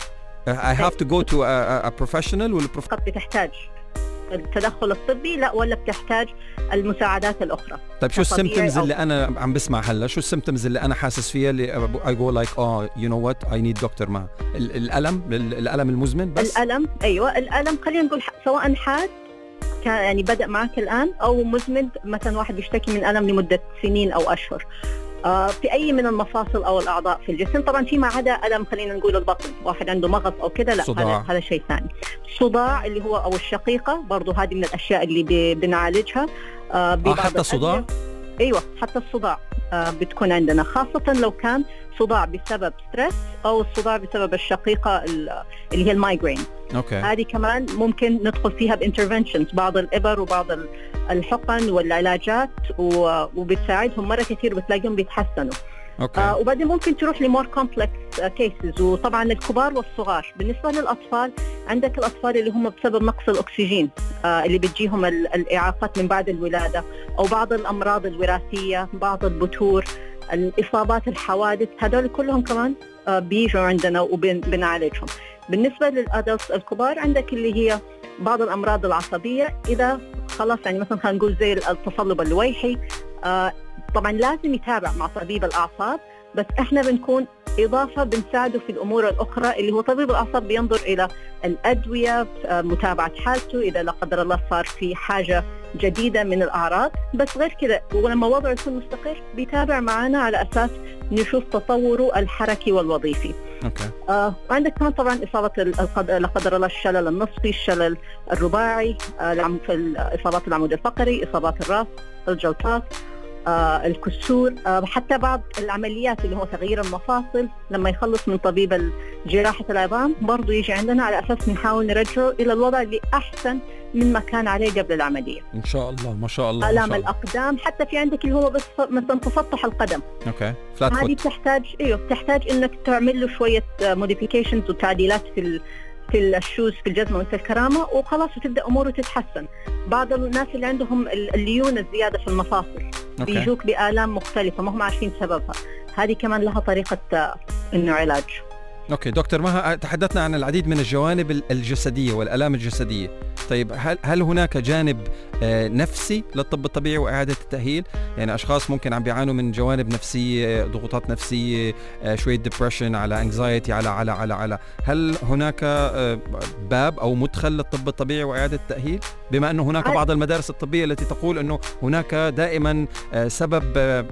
I have to go to a professional. بتحتاج التدخل الطبي لا، ولا بتحتاج المساعدات الأخرى؟ طيب شو السيمبتومز اللي أنا عم بسمع هلا؟ شو السيمبتومز اللي أنا حاسس فيها اللي I go like you know what I need دكتور مها؟ الألم المزمن بس؟ الألم، أيوة الألم، خلينا نقول سواء حاد يعني بدأ معك الآن أو مزمن، مثلا واحد بيشتكي من ألم لمدة سنين أو أشهر في أي من المفاصل أو الأعضاء في الجسم. طبعا فيما عدا ألم خلينا نقول البطن، واحد عنده مغص أو كده، لا هذا شيء ثاني. صداع اللي هو أو الشقيقة برضو هذه من الأشياء اللي بنعالجها. حتى الصداع؟ أيوة حتى الصداع بتكون عندنا، خاصة لو كان صداع بسبب ستريس أو الصداع بسبب الشقيقة اللي هي المايجرين. هذه كمان ممكن ندخل فيها بانترفنشنز، بعض الإبر وبعض الحقن والعلاجات، وبتساعدهم مرة كثير بتلاقيهم بيتحسنوا. وبعدين ممكن تروح لمور كومبلكس كيسز. وطبعا الكبار والصغار. بالنسبة للأطفال عندك الأطفال اللي هم بسبب نقص الأكسجين اللي بتجيهم الإعاقات من بعد الولادة، أو بعض الأمراض الوراثية، بعض البتور، الإصابات، الحوادث، هذول كلهم كمان بيجوا عندنا وبنعالجهم. بالنسبة للأدلتس الكبار عندك اللي هي بعض الأمراض العصبية، إذا خلاص يعني مثلا خلينا نقول زي التصلب اللويحي، طبعا لازم يتابع مع طبيب الأعصاب، بس احنا بنكون إضافة بنساعده في الأمور الأخرى اللي هو طبيب الأعصاب بينظر إلى الأدوية، متابعة حالته إذا لا قدر الله صار في حاجة جديدة من الأعراض. بس غير كده ولما وضعه يكون مستقر بيتابع معنا على أساس نشوف تطوره الحركي والوظيفي. عندك كمان طبعا إصابة لا قدر الله الشلل النصفي، الشلل الرباعي، إصابات العمود الفقري، إصابات الرأس، الجلطات، الكسور، حتى بعض العمليات اللي هو تغيير المفاصل لما يخلص من طبيب جراحة العظام برضو يجي عندنا على أساس نحاول نرجعه إلى الوضع اللي أحسن من ما كان عليه قبل العملية. إن شاء الله. ما شاء الله. آلام الأقدام، حتى في عندك اللي هو بس مثلا تسطح القدم، هذه تحتاج إنك تعمل له شوية موديفيكيشنز وتعديلات في الشوز في الجزمة وانت الكرامة وخلاص وتبدأ أموره تتحسن. بعض الناس اللي عندهم الليونة الزيادة في المفاصل بيجوك بآلام مختلفة ما هم عارفين سببها، هذه كمان لها طريقة إنه علاج. اوكي دكتور مها، تحدثنا عن العديد من الجوانب الجسدية والآلام الجسدية. طيب هل هناك جانب نفسي للطب الطبيعي وإعادة التأهيل؟ يعني أشخاص ممكن عم بيعانوا من جوانب نفسية، ضغوطات نفسية، شوية ديبريشن، على انكزايتي، على هل هناك باب أو مدخل للطب الطبيعي وإعادة التأهيل؟ بما أنه هناك بعض المدارس الطبية التي تقول أنه هناك دائما سبب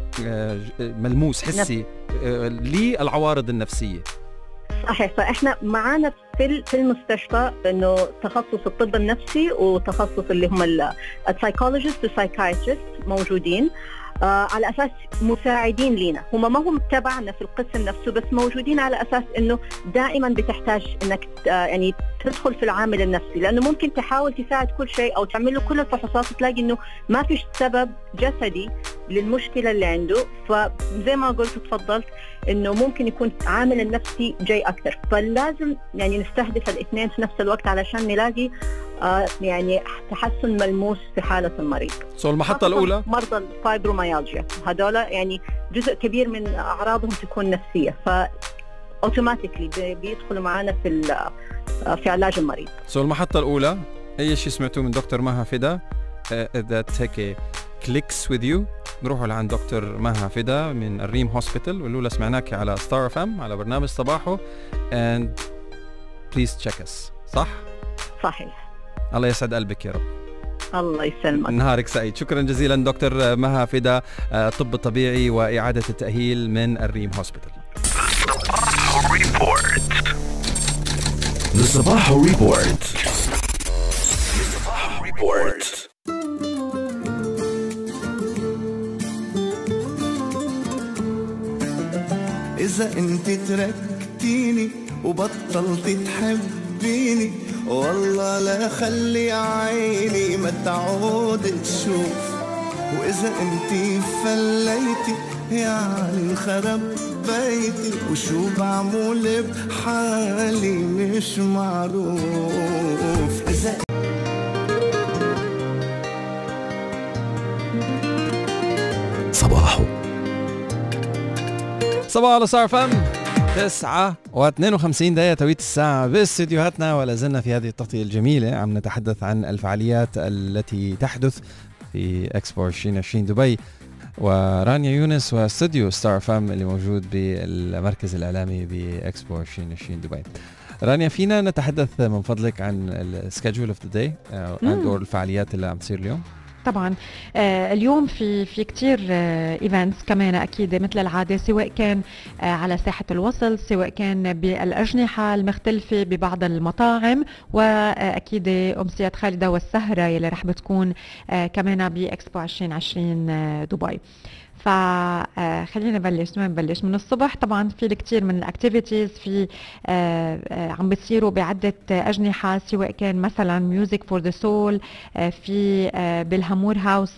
ملموس حسي للعوارض النفسية. صحيح. فإحنا معانا في المستشفى إنه تخصص الطب النفسي وتخصص اللي هم السايكولوجيست والسايكايتريست موجودين على أساس مساعدين لينا، هم ما هم تبعنا في القسم نفسه بس موجودين على أساس إنه دائما بتحتاج إنك يعني تدخل في العامل النفسي، لأنه ممكن تحاول تساعد كل شيء أو تعمل له كل الفحوصات وتلاقي إنه ما فيش سبب جسدي للمشكلة اللي عنده. فزي ما قلت تفضلت إنه ممكن يكون عامل النفسي جاي أكثر، فلازم يعني نستهدف الاثنين في نفس الوقت علشان نلاقي يعني تحسن ملموس في حالة المريض. المحطة الأولى مرضى الفايبروميالجيا هذول يعني جزء كبير من أعراضهم تكون نفسية، فأوتوماتيكلي بيدخلوا معنا في علاج المريض. المحطة الأولى أي شيء سمعتوه من دكتور مها فدا that هيك clicks with you، نروحوا لعند دكتور مها فدا من الريم هوسبيتال والأولى سمعناك على ستار اف ام على برنامج صباحو and please check us. صحيح. الله يسعد قلبك يا رب. الله يسلمك. نهارك سعيد. شكرا جزيلا دكتور مها فدا، طب طبيعي وإعادة التأهيل من الريم هوسبيتال. الصباح ريبورت. إذا أنت تركتيني وبطلت تحبيني والله لا خلي عيني ما تعود تشوف، وإذا أنت فليتي يعني انخرب بيتي وشو بعمل بحالي مش معروف. إذا صباح على ستار اف ام 9:52 توقيت الساعة باستديوهاتنا، ولا زلنا في هذه التغطية الجميلة عم نتحدث عن الفعاليات التي تحدث في اكسبو 2020 دبي، ورانيا يونس واستوديو ستار اف ام اللي موجود بالمركز الإعلامي باكسبو 2020 دبي. رانيا، فينا نتحدث من فضلك عن السكادجول اوف ذا داي او الفعاليات اللي عم تصير اليوم؟ طبعا اليوم في كتير ايفنتس كمان اكيد مثل العاده، سواء كان على ساحه الوصل، سواء كان بالاجنحه المختلفه ببعض المطاعم، واكيد امسيات خالده والسهره يلي رح بتكون كمان باكسبو 2020 دبي. فخلينا نبلش من الصبح. طبعا في الكثير من الاكتيفيتيز في عم بتصيروا بعده اجنحه، سواء كان مثلا ميوزك فور ذا سول، في بالهامور هاوس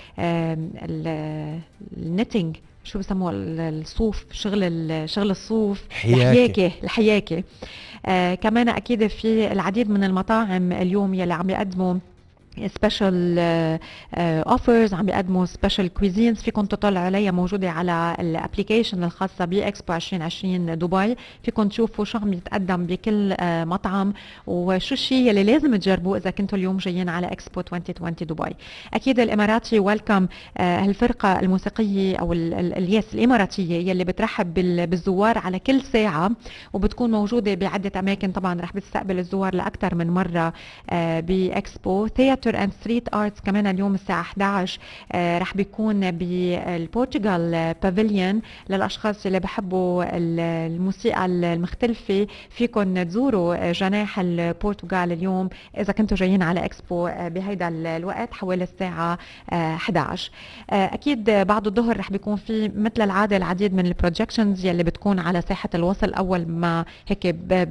النيتنج، شو بسموه، الصوف، شغل الصوف، الحياكه. كمان اكيد في العديد من المطاعم اليوم يلي عم يقدموا سبيشال اوفرز، عم بيقدموا سبيشال كويزينز فيكم تطلعوا عليها، موجوده على الابلكيشن الخاصه باكسبو 2020 دبي. فيكم تشوفوا شو عم يتقدم بكل مطعم وشو الشيء اللي لازم تجربوه اذا كنتوا اليوم جايين على اكسبو 2020 دبي. اكيد الاماراتي ويلكم هالفرقه الموسيقيه او اليس الاماراتيه يلي بترحب بالزوار على كل ساعه، وبتكون موجوده بعده اماكن. طبعا رح بتستقبل الزوار لاكثر من مره باكسبو. ثياتر اند ستريت ارتس كمان اليوم الساعه 11 رح بيكون بالبورتوغال بافيليون للاشخاص اللي بحبوا الموسيقى المختلفه. فيكم تزوروا جناح البرتغال اليوم اذا كنتوا جايين على اكسبو بهيدا الوقت حوالي الساعه 11. اكيد بعد الظهر رح بيكون في مثل العاده العديد من البروجكشنز يلي بتكون على ساحه الوصل. اول ما هيك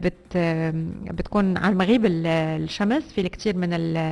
بتكون على مغيب الشمس في الكثير من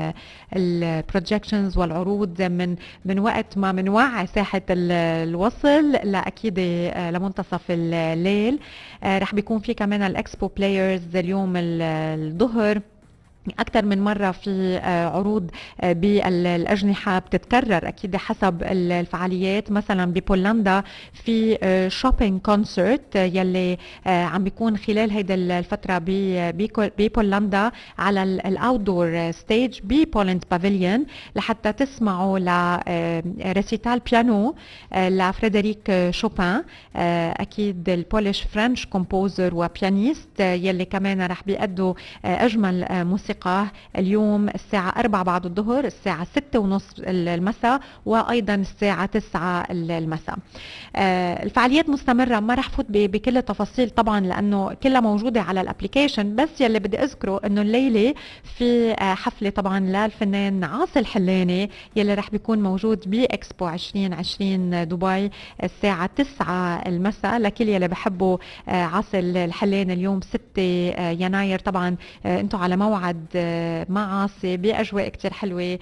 البروجكشنز والعروض من وقت ما منوعي ساحه الوصل لاكيد لمنتصف الليل. رح بيكون في كمان الاكسبو بلايرز اليوم الظهر أكثر من مرة في عروض بالأجنحة بتتكرر أكيد حسب الفعاليات. مثلا ببولندا في شوبينج كونسرت يلي عم بيكون خلال هيدا الفترة ببولندا على الأوتدور ستيج ببولند بافيليون لحتى تسمعوا لريسيتال بيانو لفريدريك شوبان، أكيد البوليش فرنش كومبوزر وبيانيست يلي كمان رح بيأدوا أجمل موسيقى اليوم الساعة 4 بعد الظهر، الساعة 6:30 المساء، وأيضا الساعة 9 المساء. الفعاليات مستمرة، ما رح فوت بكل التفاصيل طبعا لأنه كلها موجودة على الابليكيشن. بس يلي بدي أذكره أنه الليلة في حفلة طبعا للفنان عاصي الحلاني يلي رح بيكون موجود بإكسبو 2020 دبي الساعة 9 المساء. لكل يلي بحبوا عاصي الحلاني اليوم 6 يناير طبعا انتم على موعد مع عاصي بأجواء كتير حلوة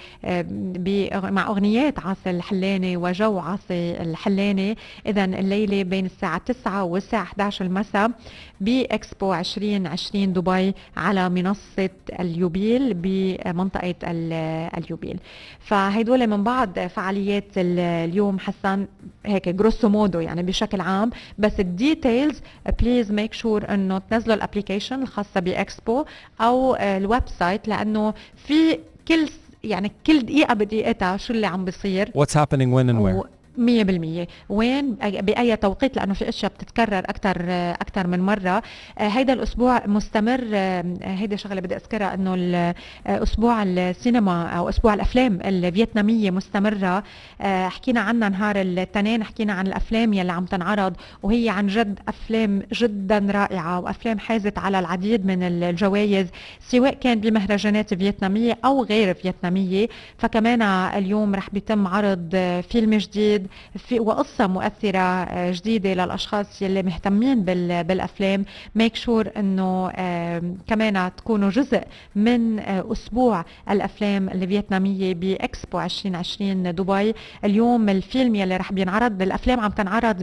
مع أغنيات عاصي الحلاني وجو عاصي الحلاني. إذن الليلة بين الساعة 9 والساعة 11 المساء بإكسبو 2020 دبي على منصة اليوبيل بمنطقة اليوبيل. فهيدول من بعض فعاليات اليوم حسن هيك جروسو مودو يعني بشكل عام. بس الديتيلز بليز ميك شور انه تنزلوا الابليكيشن الخاصة بإكسبو او الويب سايت لانه في كل دقيقة بدقيقتها شو اللي عم بيصير What's happening when and where 100% وين بأي توقيت لأنه في أشياء بتتكرر أكثر من مرة. هيدا الأسبوع مستمر. هيدا شغلة بدي أذكرها أنه أسبوع السينما أو أسبوع الأفلام الفيتنامية مستمرة. حكينا عنها نهار الاثنين، حكينا عن الأفلام يلي عم تنعرض وهي عن جد أفلام جدا رائعة وأفلام حازت على العديد من الجوائز سواء كان بمهرجانات فيتنامية أو غير فيتنامية. فكمان اليوم رح بيتم عرض فيلم جديد وقصة مؤثرة جديدة للأشخاص يلي مهتمين بالأفلام. ميك شور أنه كمان تكونوا جزء من أسبوع الأفلام الفيتنامية بإكسبو 2020 دبي. اليوم الفيلم يلي رح بينعرض، الأفلام عم تنعرض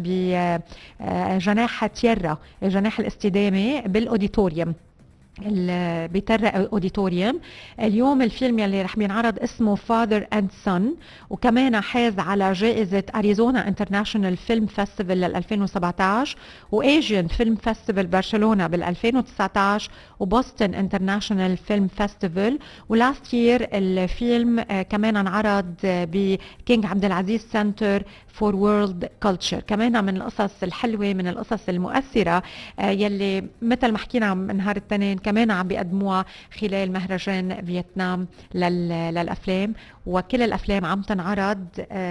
بجناح تيرا، الجناح الاستدامي بالأوديتوريوم بترى اوديتوريوم. اليوم الفيلم يلي رح بينعرض اسمه Father and Son، وكمان حاز على جائزة أريزونا انترناشونال فيلم فيستيفال لل 2017 وأيجين فيلم فيستيفال برشلونة بال 2019 وبوسطن انترناشونال فيلم فيستيفال. ولاست يير الفيلم كمان انعرض بكينج عبد العزيز سنتر فور وورلد كلتشر. كمان من القصص الحلوة من القصص المؤثرة يلي مثل ما حكينا من نهار التنين كمان عم بيقدموها خلال مهرجان فيتنام للأفلام. وكل الأفلام عم تنعرض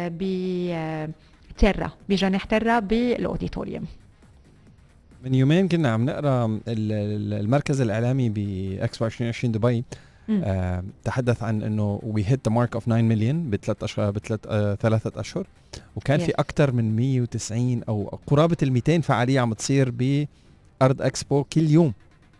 بتيرا بجناح تيرا بالأوديتوريوم. من يومين كنا عم نقرا المركز الإعلامي بإكسبو 2020 دبي تحدث عن انه we hit the mark of 9 مليون ثلاثة أشهر وكان في أكثر من 190 أو قرابة 200 فعالية عم تصير بأرض إكسبو كل يوم.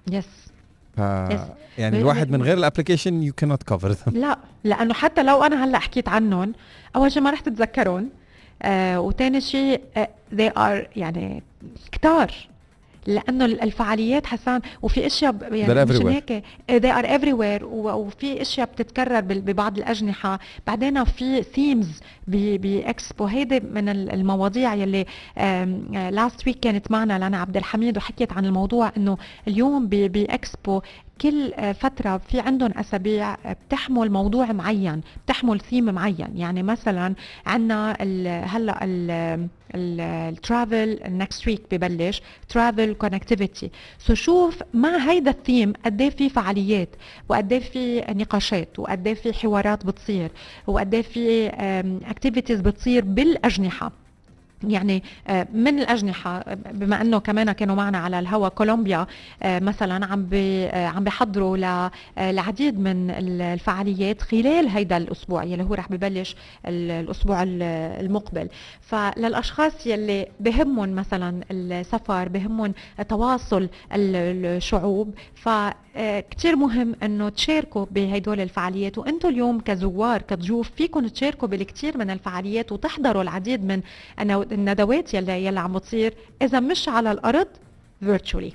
يعني الواحد من غير الابليكيشن you cannot cover them. لا لأنه حتى لو أنا هلأ حكيت عنهم أول شيء ما رح تتذكرون وتاني شيء they are يعني كتار لانه الفعاليات حسان وفي اشياء يعني مش هيك they are everywhere وفي اشياء بتتكرر ببعض الاجنحه. بعدين في ثيمز باكسبو، هيدي من المواضيع يلي لاست ويك كانت معنا لنا عبد الحميد وحكيت عن الموضوع انه اليوم باكسبو كل فترة في عندهم أسابيع بتحمل موضوع معين، بتحمل ثيم معين. يعني مثلا عنا هلأ الترافل next week ببلش ترافل كونكتيفيتي. سو شوف مع هيدا الثيم قديه في فعاليات وقديه في نقاشات وقديه في حوارات بتصير وقديه في اكتيفيتيز بتصير بالأجنحة. يعني من الأجنحة، بما أنه كمان كانوا معنا على الهوا كولومبيا مثلا عم بيحضروا لعديد من الفعاليات خلال هيدا الأسبوع يلي هو رح ببلش الأسبوع المقبل. فللأشخاص يلي بهمهم مثلا السفر، بهمهم تواصل الشعوب، فكتير مهم أنه تشاركوا بهيدول الفعاليات. وأنتوا اليوم كزوار كضيوف فيكم تشاركوا بالكثير من الفعاليات وتحضروا العديد من الندوات يلي عم بتصير إذا مش على الأرض virtually.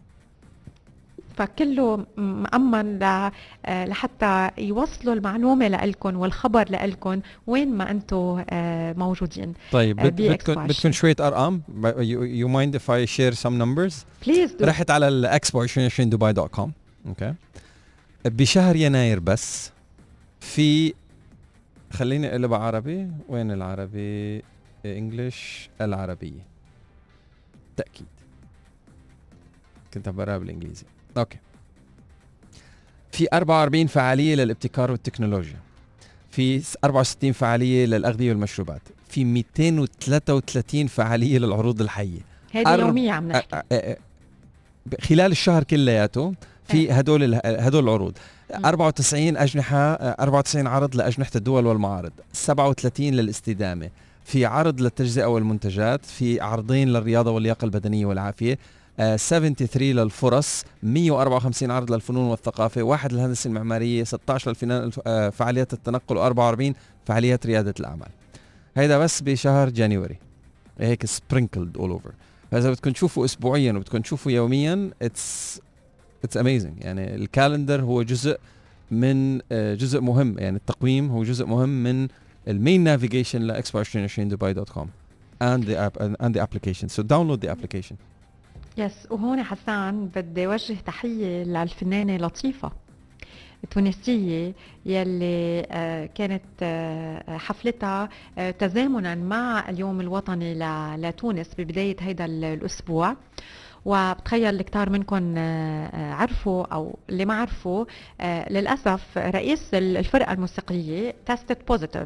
فكله مأمن لحتى يوصلوا المعلومة لإلكم والخبر لإلكم وين ما أنتم موجودين. طيب بدكم شوية أرقام؟ you mind if I share some numbers؟ Please do. رحت على الإكسبو 2020 dubai.com. اوكي. بشهر يناير بس في، خليني اقلب عربي، وين العربي؟ انجلش، العربية تأكيد، كنت بقراها بالانجليزي. اوكي. في 44 فعالية للابتكار والتكنولوجيا، في 64 فعالية للأغذية والمشروبات، في 233 فعالية للعروض الحية. هذه يومية عم نحكي خلال الشهر كلياته في هدول العروض. 94 أجنحة، 94 عرض لأجنحة الدول والمعارض، 37 للاستدامة، في عرض للتجزئة والمنتجات، في عرضين للرياضة واللياقة البدنية والعافية، 73 للفرص، 154 عرض للفنون والثقافة، 1 للهندسة المعمارية، 16 فعاليات التنقل، و44 فعاليات ريادة الأعمال. هيدا بس بشهر جانيوري، هيك sprinkled all over. فإذا بدكم تشوفوا أسبوعيا وبدكم تشوفوا يوميا it's amazing. يعني الكالندر هو جزء من جزء مهم، يعني التقويم هو جزء مهم من المين نافيجيشن لإكسبو 2020 dubai.com and the application. So download the application. يس. وهون حسان بدي وجه تحية للفنانة لطيفة التونسية يلي كانت حفلتها تزامنا مع اليوم الوطني لتونس ببداية هيدا الأسبوع. وبتخيل الكتار منكم عرفوا أو اللي ما عرفوا، للأسف رئيس الفرقة الموسيقية تستد بوزيتيف،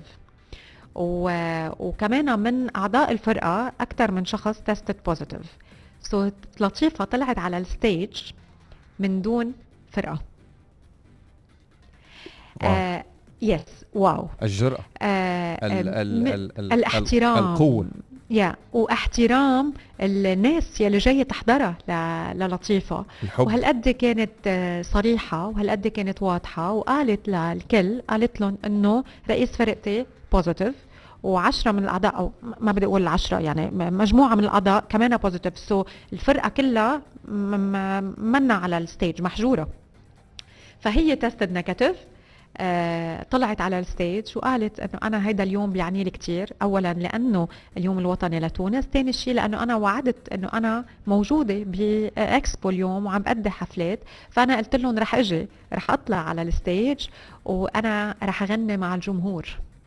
وكمان من أعضاء الفرقة أكثر من شخص تستد بوزيتيف. سو لطيفة طلعت على الستيج من دون فرقة. يس واو. الجرأة، الاحترام، القوة، واحترام الناس يلي جاية تحضرها للطيفة. وهالقد كانت صريحة وهالقد كانت واضحة، وقالت للكل، قالت لهم انه رئيس فرقتي بوزيتيف، و10 من الاعضاء، او ما بدي اقول 10، يعني مجموعة من الاعضاء كمان بوزيتيف. سو الفرقة كلها منا على الستيج، محجورة. فهي تستد نيجاتيف، طلعت على الستيج وقالت انه انا هيدا اليوم بيعني لي كتير. اولا لانه اليوم الوطني لتونس، ثاني شيء لانه انا وعدت انه انا موجوده باكسبو اليوم وعم بأدي حفلات، فانا قلت لهم رح اجي، رح اطلع على الستيج وانا رح اغني مع الجمهور.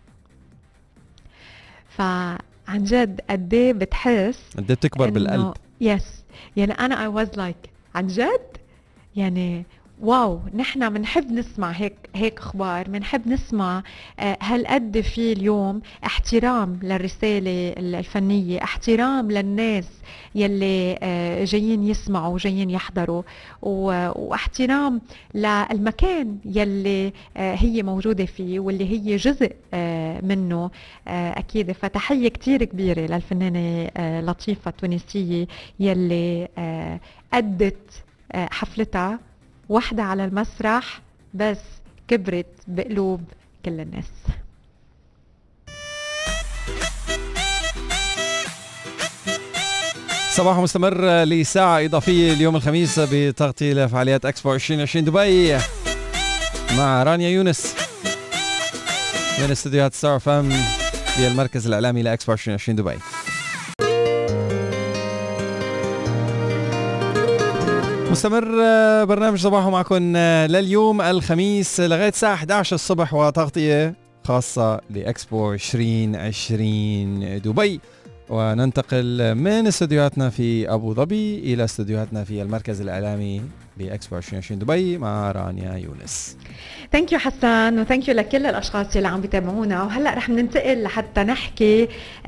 فعن جد قد ايه بتحس، قد ايه بتكبر بالقلب. يس. يعني انا I was like عن جد يعني واو، نحن منحب نسمع هيك اخبار، منحب نسمع هالقد في اليوم احترام للرساله الفنيه، احترام للناس يلي جايين يسمعوا وجايين يحضروا، واحترام للمكان يلي هي موجوده فيه واللي هي جزء منه اكيد. فتحيه كتير كبيره للفنانه لطيفه التونسيه يلي أدت حفلتها وحدة على المسرح، بس كبرت بقلوب كل الناس. صباح مستمر لساعة إضافية اليوم الخميس بتغطية لفعاليات اكسبو 2020 دبي مع رانيا يونس من استديوهات ستار فام بالمركز الإعلامي لاكسبو 2020 دبي. مستمر برنامج صباحو معكم لليوم الخميس لغاية الساعة 11 الصبح وتغطية خاصة لإكسبو 2020 دبي. وننتقل من استديوهاتنا في أبو ظبي إلى استديوهاتنا في المركز الإعلامي لإكسبو 2020 دبي مع رانيا يونس. ثانك يو حسن وثانك يو لكل الاشخاص اللي عم بيتابعونا. وهلا رح ننتقل لحتى نحكي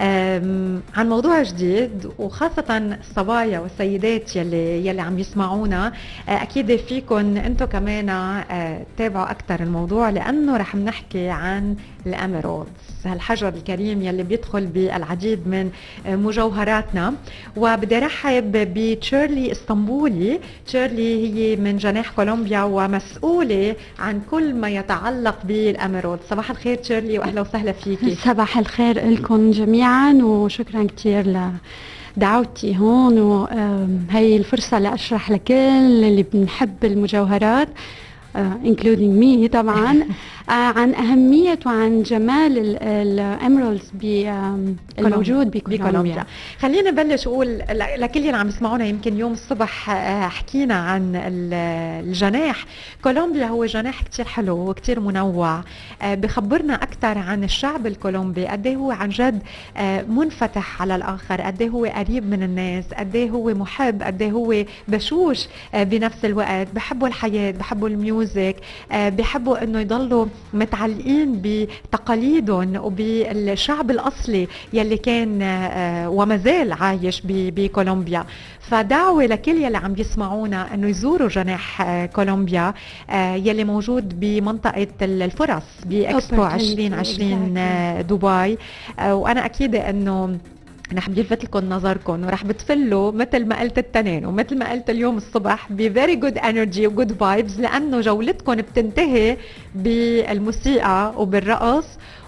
عن موضوع جديد وخاصه الصبايا والسيدات يلي عم يسمعونا. اكيد فيكم انتم كمان تتابعوا اكثر الموضوع لانه رح نحكي عن الاميرالدز، هالحجر الكريم يلي بيدخل بالعديد من مجوهراتنا. وبدي ارحب بتشيرلي اسطنبولي. تشيرلي هي من جناح كولومبيا ومسؤوله عن كل ما يتعلق بالاميرالد. صباح الخير تشيرلي واهلا وسهلا فيكي. صباح الخير لكم جميعا وشكرا كثير لدعوتي هون، وهي الفرصه لاشرح لكل اللي بنحب المجوهرات including me طبعا عن أهمية وعن جمال الأميرالدز الموجود بكولومبيا. خلينا نبلش أقول لكل اللي عم يسمعونا، يمكن يوم الصبح حكينا عن الجناح. كولومبيا هو جناح كتير حلو وكتير منوع، بخبرنا أكثر عن الشعب الكولومبي، قديه هو عن جد منفتح على الآخر، قديه هو قريب من الناس، قديه هو محب، قديه هو بشوش بنفس الوقت، بحبوا الحياة، بحبوا الميوزك، بحبوا انه يضلوا متعلقين بتقاليدهم وبالشعب الاصلي يلي كان وما زال عايش بكولومبيا. فدعوة لكل يلي عم يسمعونا انه يزوروا جناح كولومبيا يلي موجود بمنطقة الفرص باكسبو 2020 دبي. وانا اكيدة انه رح بيلفت لكم نظركم ورح بتفلوا مثل ما قلت التنين ومثل ما قلت اليوم الصبح بفيري جود انرجي وجود فايبز، لانه جولتكم بتنتهي بالموسيقى وبالرقص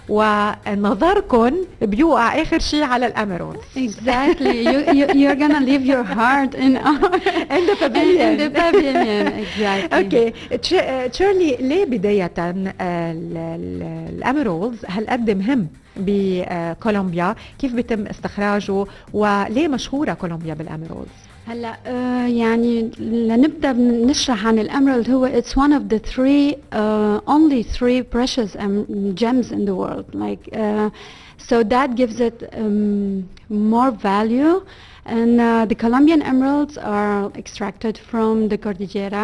ونظركم بيوقع اخر شيء على الاميرالدز. Exactly. You're gonna leave your heart in the pavilion. In the pavilion. Exactly. اوكي تشيرلي، ليه بداية الاميرالدز هالقد مهم بكولومبيا؟ كيف بيتم استخراجه وليه مشهورة كولومبيا بالاميرالدز؟ هلا يعني لنبدا نشرح عن الاميرالد. هو it's one of the only three precious gems in the world, like so that gives it more value. And the Colombian emeralds are extracted from the Cordillera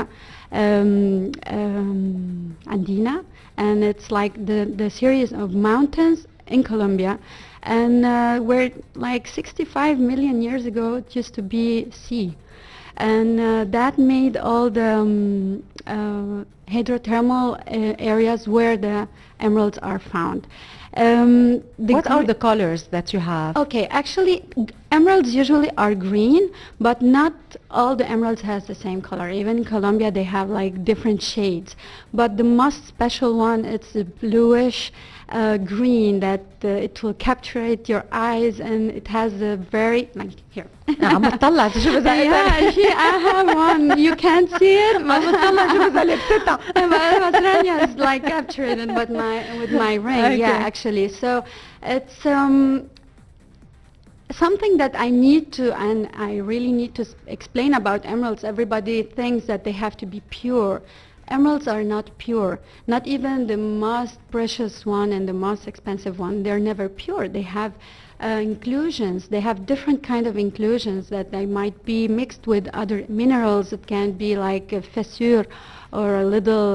Andina, and it's like the series of mountains in Colombia. And where like 65 million years ago it used to be sea, and that made all the hydrothermal areas where the emeralds are found. What are the colors that you have? Okay, actually emeralds usually are green, but not all the emeralds has the same color. Even in Colombia they have like different shades, but the most special one, it's a bluish green that it will capturate your eyes, and it has a very like here. عم بتطلع تشوف إذا I have one. You can't see it. عم بتطلع شوف إذا لبستها. But Rania is like captured it with my ring. Okay. Yeah, actually. So it's something that I need to, and I really need to explain about emeralds. Everybody thinks that they have to be pure. Emeralds are not pure. Not even the most precious one and the most expensive one. They're never pure. They have inclusions. They have different kind of inclusions that they might be mixed with other minerals. It can be like a fissure or a little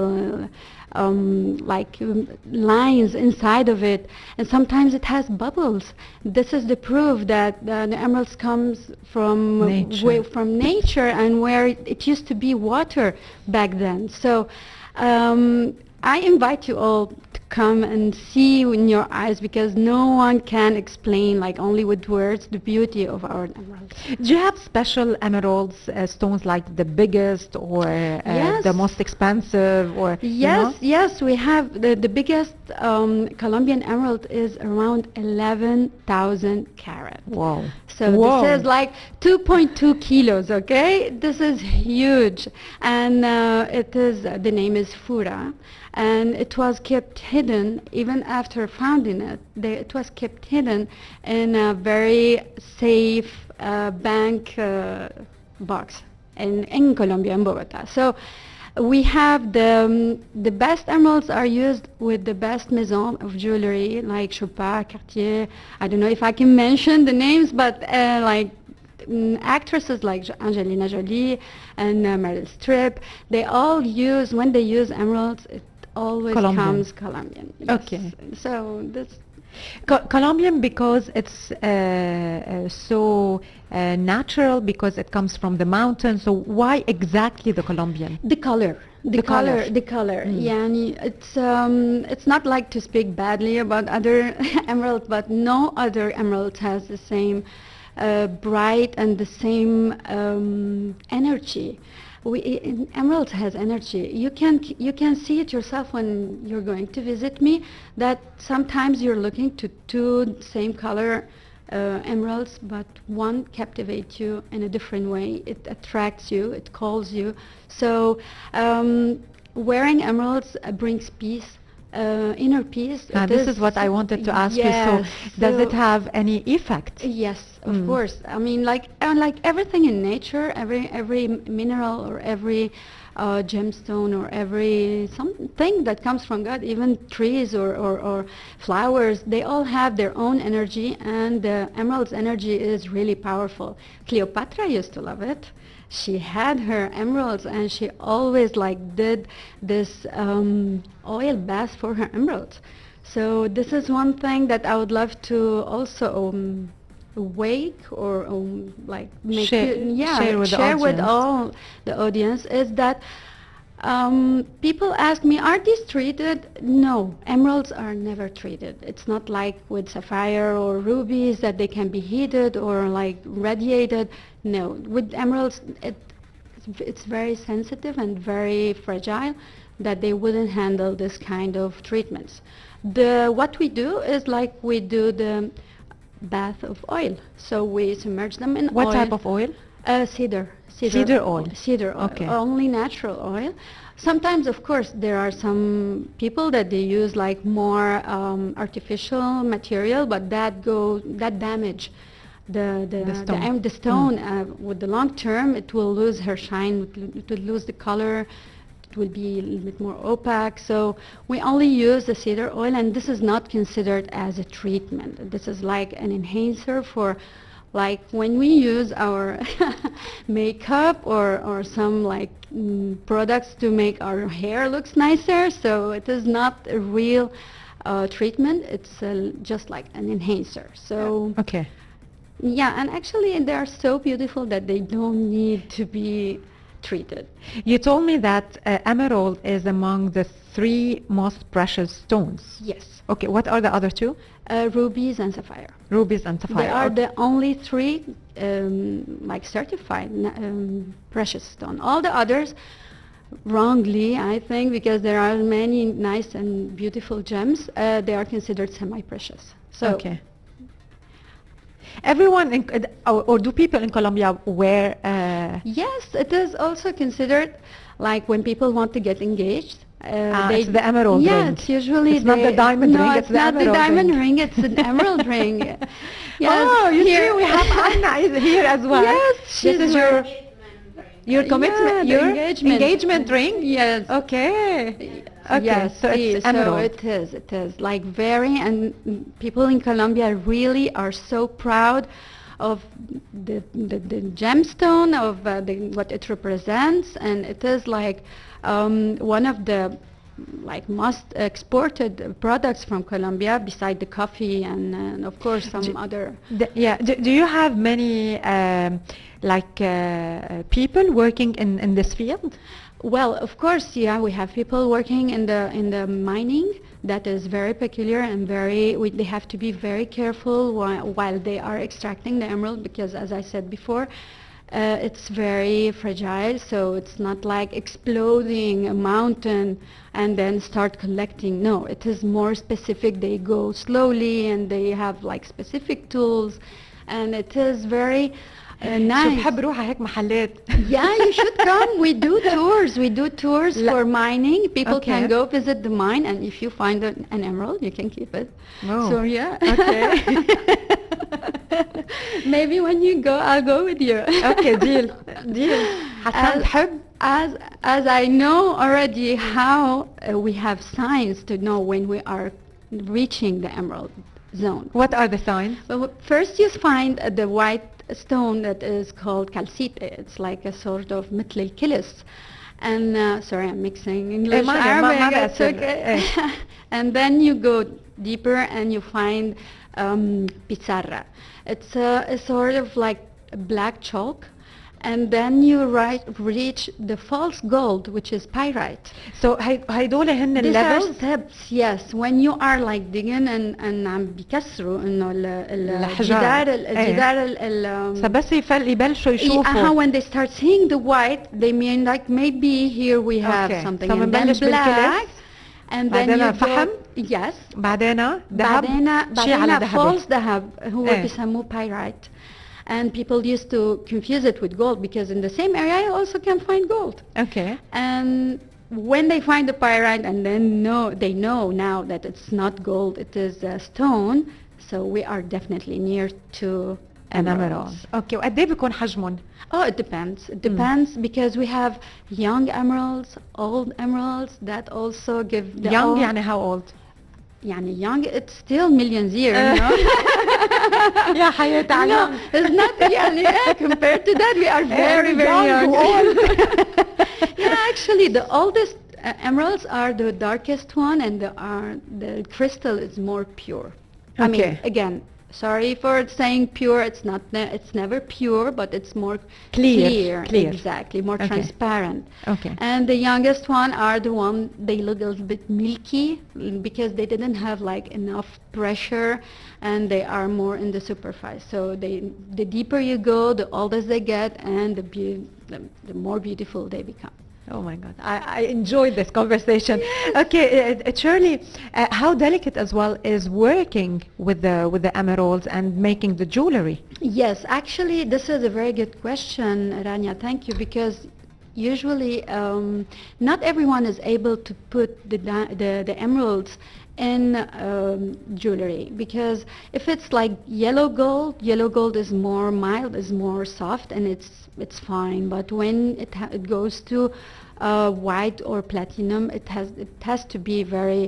lines inside of it, and sometimes it has bubbles. This is the proof that the emeralds comes from nature and where it used to be water back then. So I invite you all to come and see in your eyes, because no one can explain, like only with words, the beauty of our emeralds. Do you have special emeralds stones, like the biggest or Yes. the most expensive, or Yes, we have the biggest Colombian emerald is around 11,000 carat. Wow. So Wow. this is like 2.2 kilos, okay? This is huge. And it is, the name is Fura. And it was kept hidden, even after finding it. It was kept hidden in a very safe bank box in Colombia, in Bogota. So we have the best emeralds are used with the best maison of jewelry, like Chopin, Cartier. I don't know if I can mention the names, but like actresses like Angelina Jolie and Meryl Streep, they all use, when they use emeralds, it always Colombian. comes Colombian. Yes. Okay. So this. Colombian, because it's so natural, because it comes from the mountains. So why exactly the Colombian? The color. The color. يعني it's not like to speak badly about other emeralds, but no other emerald has the same bright and the same energy. Emerald has energy. You can see it yourself when you're going to visit me, that sometimes you're looking to two same color emeralds, but one captivates you in a different way. It attracts you, it calls you. So wearing emeralds brings peace, inner peace. This is what I wanted to ask you. So does it have any effect? Yes, of course. I mean, like everything in nature, every mineral or every gemstone or every something that comes from God, even trees or flowers, they all have their own energy, and the emerald's energy is really powerful. Cleopatra used to love it. She had her emeralds, and she always like did this oil bath for her emeralds. So this is one thing that I would love to also wake or like make share with all the audience, is that people ask me, are these treated? No, emeralds are never treated. It's not like with sapphire or rubies that they can be heated or like radiated. No, with emeralds it's very sensitive and very fragile, that they wouldn't handle this kind of treatments. What we do is like we do the bath of oil. So we submerge them in oil. What type of oil? Cedar oil. Cedar oil. Okay. Only natural oil. Sometimes, of course, there are some people that they use like more artificial material, but that damage the stone. With the long term, it will lose her shine. It will lose the color. It will be a little bit more opaque. So we only use the cedar oil, and this is not considered as a treatment. This is like an enhancer for, like when we use our makeup or some like products to make our hair looks nicer. So it is not a real treatment. It's just like an enhancer. So okay. Yeah, and actually they are so beautiful that they don't need to be treated. You told me that emerald is among the 3 most precious stones. Yes. Okay, what are the other 2? Rubies and sapphire. Rubies and sapphire. They are the only 3 like certified precious stone. All the others, wrongly, I think, because there are many nice and beautiful gems, they are considered semi-precious. So okay. Everyone or do people in Colombia wear? Yes, it is also considered like when people want to get engaged. It's the emerald ring. Yeah, it's usually it's not the diamond ring. It's the not the diamond ring. It's an emerald ring. Yes, oh, you see, we have Anna is here as well. Yes, this is your commitment, your engagement ring. Yes. Okay. Okay. Yes, so it's emerald. So it is like very, and people in Colombia really are so proud of the gemstone, of what it represents, and it is like one of the like most exported products from Colombia, beside the coffee and of course some other. Do you have many people working in this field? Well, of course, yeah, we have people working in the mining. That is very peculiar and they have to be very careful while they are extracting the emerald, because as I said before, it's very fragile, so it's not like exploding a mountain and then start collecting. No, it is more specific. They go slowly and they have like specific tools, and it is very nice. شو بحب روح هيك محلات. Yeah, you should come. We do tours for mining. People can go visit the mine, and if you find an emerald, you can keep it. Oh. So yeah. Okay. Maybe when you go, I'll go with you. Okay, deal. حسن بحب. As I know already how we have signs to know when we are reaching the emerald zone. What are the signs? Well, first you find the white stone that is called calcite. It's like a sort of مثل الكلس. And sorry, I'm mixing English, Arabic. It's okay. And then you go deeper and you find pizarra. It's a sort of like a black chalk. And then you reach the false gold, which is pyrite. So هيدول هن These are levels. steps, yes. When you are like digging and عم بيكسروا إنه الحجار. الجدار فبس يبلشوا يشوفوا. When they start seeing the white, they mean like maybe here we have something. So And then بنبلش بالكلس. And then بعدين you فحم. Yes. بعدين ذهب. شيء على بعدين ذهب. false ذهب هو بيسموه pyrite. And people used to confuse it with gold, because in the same area you also can find gold. Okay. And when they find the pyrite and then they know now that it's not gold, it is a stone, so we are definitely near to emeralds. Okay. وقد ايه بيكون حجمهم؟ Oh, it depends. It depends because we have young emeralds, old emeralds that also give the Young يعني how old? يعني young, it's still millions years, you know? يا حياة علام. No, it's not يعني compared to that we are very young. Yeah, actually the oldest emeralds are the darkest one, and the crystal is more pure. I mean, again, sorry for saying pure, it's never pure, but it's more clear. Exactly, more transparent. Okay. And the youngest one are the one they look a little bit milky because they didn't have like enough pressure, and they are more in the superficie. So the deeper you go, the older they get, and the more beautiful they become. Oh my God, I enjoyed this conversation. Okay, Shirley, how delicate as well is working with the emeralds and making the jewelry? Yes, actually, this is a very good question, Rania. Thank you, because usually not everyone is able to put the emeralds in jewelry, because if it's like yellow gold is more mild, is more soft, and it's fine. But when it goes to white or platinum, it has to be very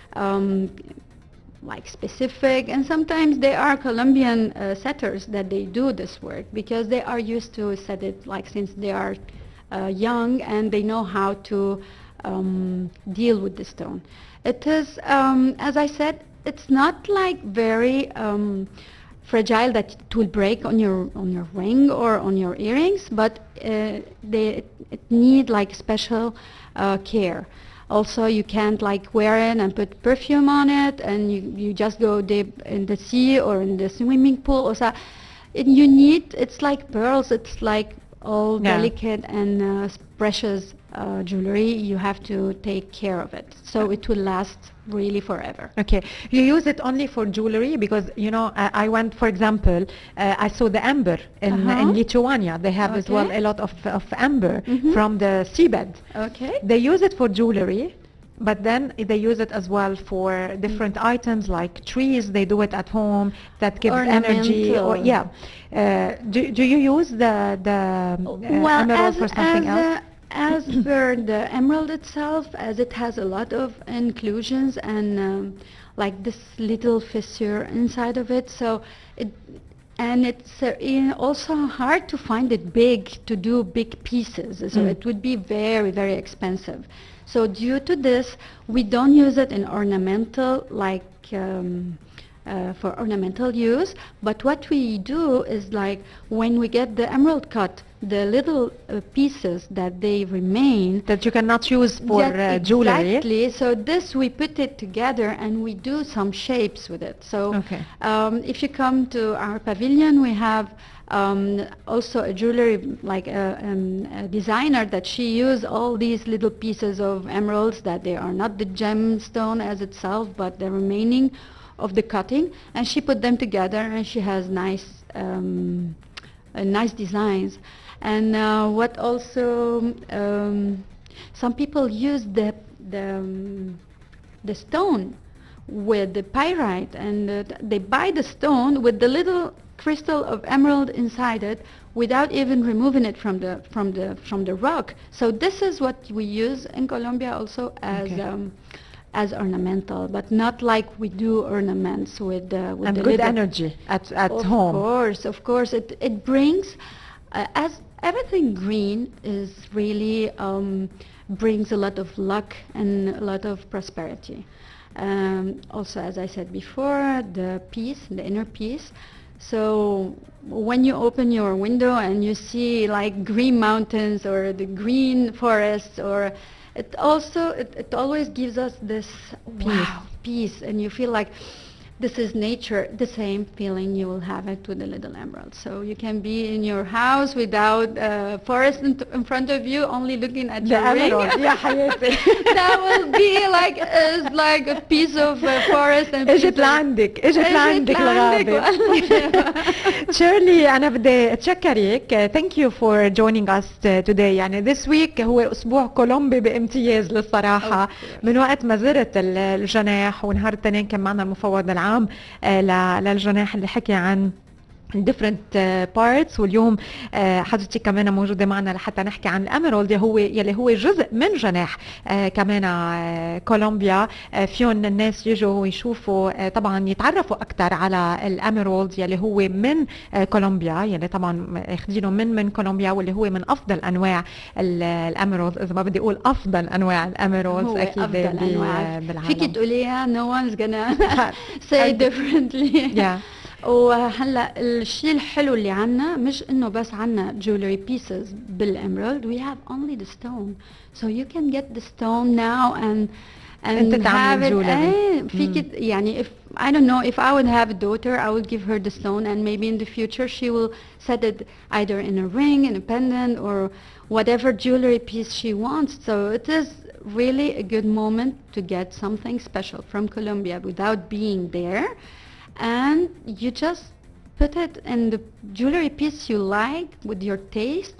like specific, and sometimes they are Colombian setters that they do this work, because they are used to set it like since they are young, and they know how to deal with the stone. It is, as I said, it's not like very fragile that it will break on your ring or on your earrings, but it need like special care. Also, you can't like wear it and put perfume on it, and you just go dip in the sea or in the swimming pool. Or so, you need, it's like pearls. It's like all delicate and precious jewelry. You have to take care of it, so it will last really forever. Okay, you use it only for jewelry? Because you know, I went, for example, I saw the amber in Lithuania. They have as well a lot of amber from the seabed. Okay, they use it for jewelry, but then they use it as well for different items like trees. They do it at home that gives energy. Or do you use the emerald for something else? As per the emerald itself, as it has a lot of inclusions and like this little fissure inside of it, so and it's also hard to find it big to do big pieces, so it would be very, very expensive. So due to this, we don't use it in ornamental, like for ornamental use, but what we do is like when we get the emerald cut, the little pieces that they remain that you cannot use for jewelry. Exactly. So this we put it together and we do some shapes with it. So if you come to our pavilion, we have also a jewelry, like a designer that she used all these little pieces of emeralds that they are not the gemstone as itself, but the remaining of the cutting, and she put them together, and she has nice designs. And what also some people use the stone with the pyrite, and they buy the stone with the little crystal of emerald inside it without even removing it from the rock. So this is what we use in Colombia also as ornamental, but not like we do ornaments with and the good little energy at home. Of course, it brings as everything green is really brings a lot of luck and a lot of prosperity. Also, as I said before, the inner peace. So when you open your window and you see like green mountains or the green forests, or it always gives us this peace, and you feel like this is nature, the same feeling you will have it with the little emerald. So you can be in your house without a forest in front of you, only looking at the emerald. That will be like a piece of forest. اجت لعندك الغابة. Shirley, أنا بدي أتشكرك. Thank you for joining us today. يعني this week هو أسبوع كولومبي بامتياز للصراحة. من وقت ما زرت الجناح، ونهار الاثنين كان معنا المفوض العام للجناح اللي حكي عن different parts، واليوم حضرتك كمان موجودة معنا لحتى نحكي عن الأميرالد يلي هو جزء من جناح كمان كولومبيا. فيهم الناس يجوا ويشوفوا طبعا يتعرفوا أكثر على الأميرالد يلي هو من كولومبيا، يلي طبعا اخذينه من كولومبيا، واللي هو من أفضل أنواع الأميرالد. إذا ما بدي أقول أفضل أنواع الأميرالد أكيد بالعالم. فيك تقوليها no one's gonna say differently. وهلا الشيء الحلو اللي عنا مش انه بس عنا jewelry pieces بالemerald, we have only the stone, so you can get the stone now and have it. فيك يعني if I don't know, if I would have a daughter, I would give her the stone, and maybe in the future she will set it either in a ring, in a pendant, or whatever jewelry piece she wants. So it is really a good moment to get something special from Colombia without being there. And you just put it in the jewelry piece you like with your taste.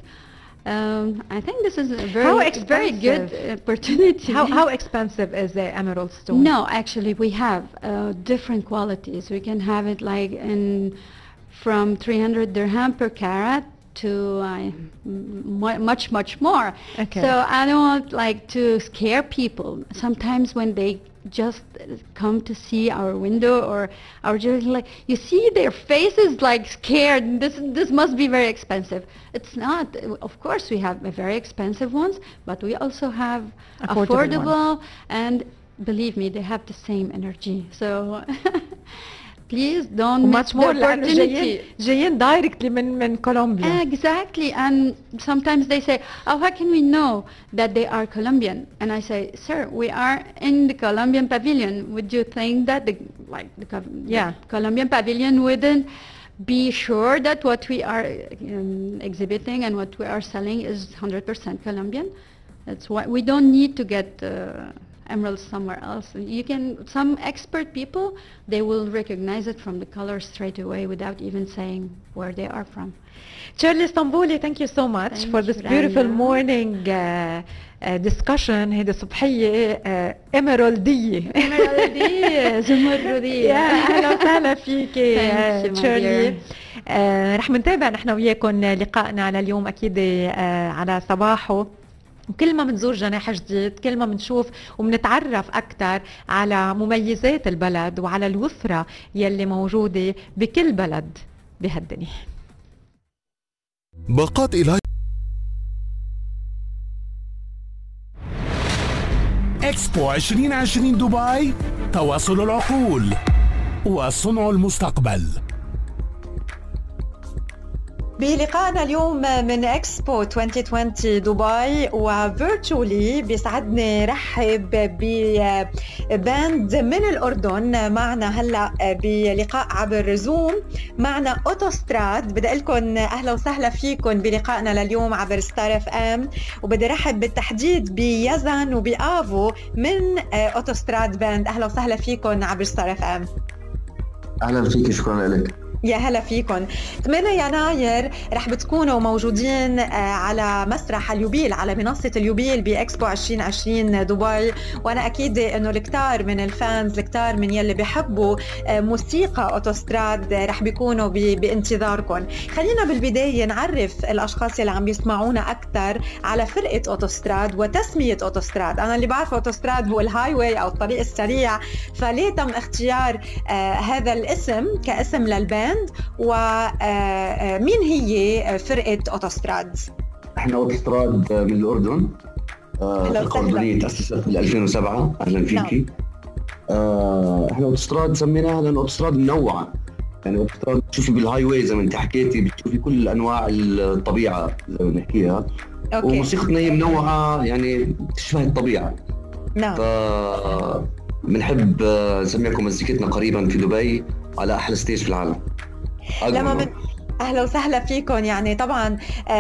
I think this is a very good opportunity. How expensive is the emerald stone? No, actually we have different qualities. We can have it like from 300 dirham per carat to much more. Okay. So I don't want like to scare people. Sometimes when they just come to see our window or our jewelry, like you see their faces like scared. This must be very expensive. It's not. Of course we have very expensive ones, but we also have affordable and believe me, they have the same energy. So please don't miss the opportunity. جايين directly من Colombia. Exactly, and sometimes they say, "Oh, how can we know that they are Colombian?" And I say, "Sir, we are in the Colombian pavilion. Would you think that the Colombian pavilion wouldn't be sure that what we are exhibiting and what we are selling is 100% Colombian?" That's why we don't need to get emeralds somewhere else. You can, some expert people, they will recognize it from the color straight away without even saying where they are from. Shirley Stamboli, thank you so much for this beautiful morning discussion. هيدي صبحية إميرالدية. زمردية. أهلا وسهلا فيك شيرلي. رح منتابع نحن وياكم لقائنا لليوم أكيد على صباحه. وكل ما منزور جناح جديد، كل ما منشوف ومنتعرف أكثر على مميزات البلد وعلى الوفرة يلي موجودة بكل بلد بهالدنيا. باقات إلى إكسبو 2020 دبي، تواصل العقول وصنع المستقبل. بلقائنا اليوم من اكسبو 2020 دبي وفيرتشولي بيسعدني رحب بباند من الأردن معنا هلا بلقاء عبر زوم. معنا أوتوستراد. بدي لكم أهلا وسهلا فيكم بلقائنا لليوم عبر ستار اف ام، وبدي رحب بالتحديد بيزن وبآفو من أوتوستراد باند. أهلا وسهلا فيكم عبر ستار اف ام. أهلا فيك، شكرا لك. يا هلا فيكم. 8 يناير رح بتكونوا موجودين على مسرح اليوبيل، على منصة اليوبيل بإكسبو 2020 دبي، وأنا أكيد أنه الكتار من الفانز، الكتار من يلي بيحبوا موسيقى أوتوستراد رح بيكونوا بانتظاركم. خلينا بالبداية نعرف الأشخاص اللي عم بيسمعونا أكثر على فرقة أوتوستراد وتسمية أوتوستراد. أنا اللي بعرفه أوتوستراد هو الهاي واي أو الطريق السريع، فليه تم اختيار هذا الاسم كاسم للباند؟ ومين هي فرقة أوتوستراد؟ احنا أوتوستراد من الأردن، فرقة أردنية تأسست بال 2007. أهلا فيكي. احنا أوتوستراد سميناها لأن أوتوستراد منوعة، يعني أوتوستراد بتشوفي بالهاي واي زي ما انت حكيتي، بتشوفي كل أنواع الطبيعة زي ما بنحكيها. وموسيقتنا هي منوعة، يعني تشبه الطبيعة. نعم. بنحب نسميكم مزيكتنا قريبا في دبي على أحلى ستيج في العالم. اهلا وسهلا فيكم. يعني طبعا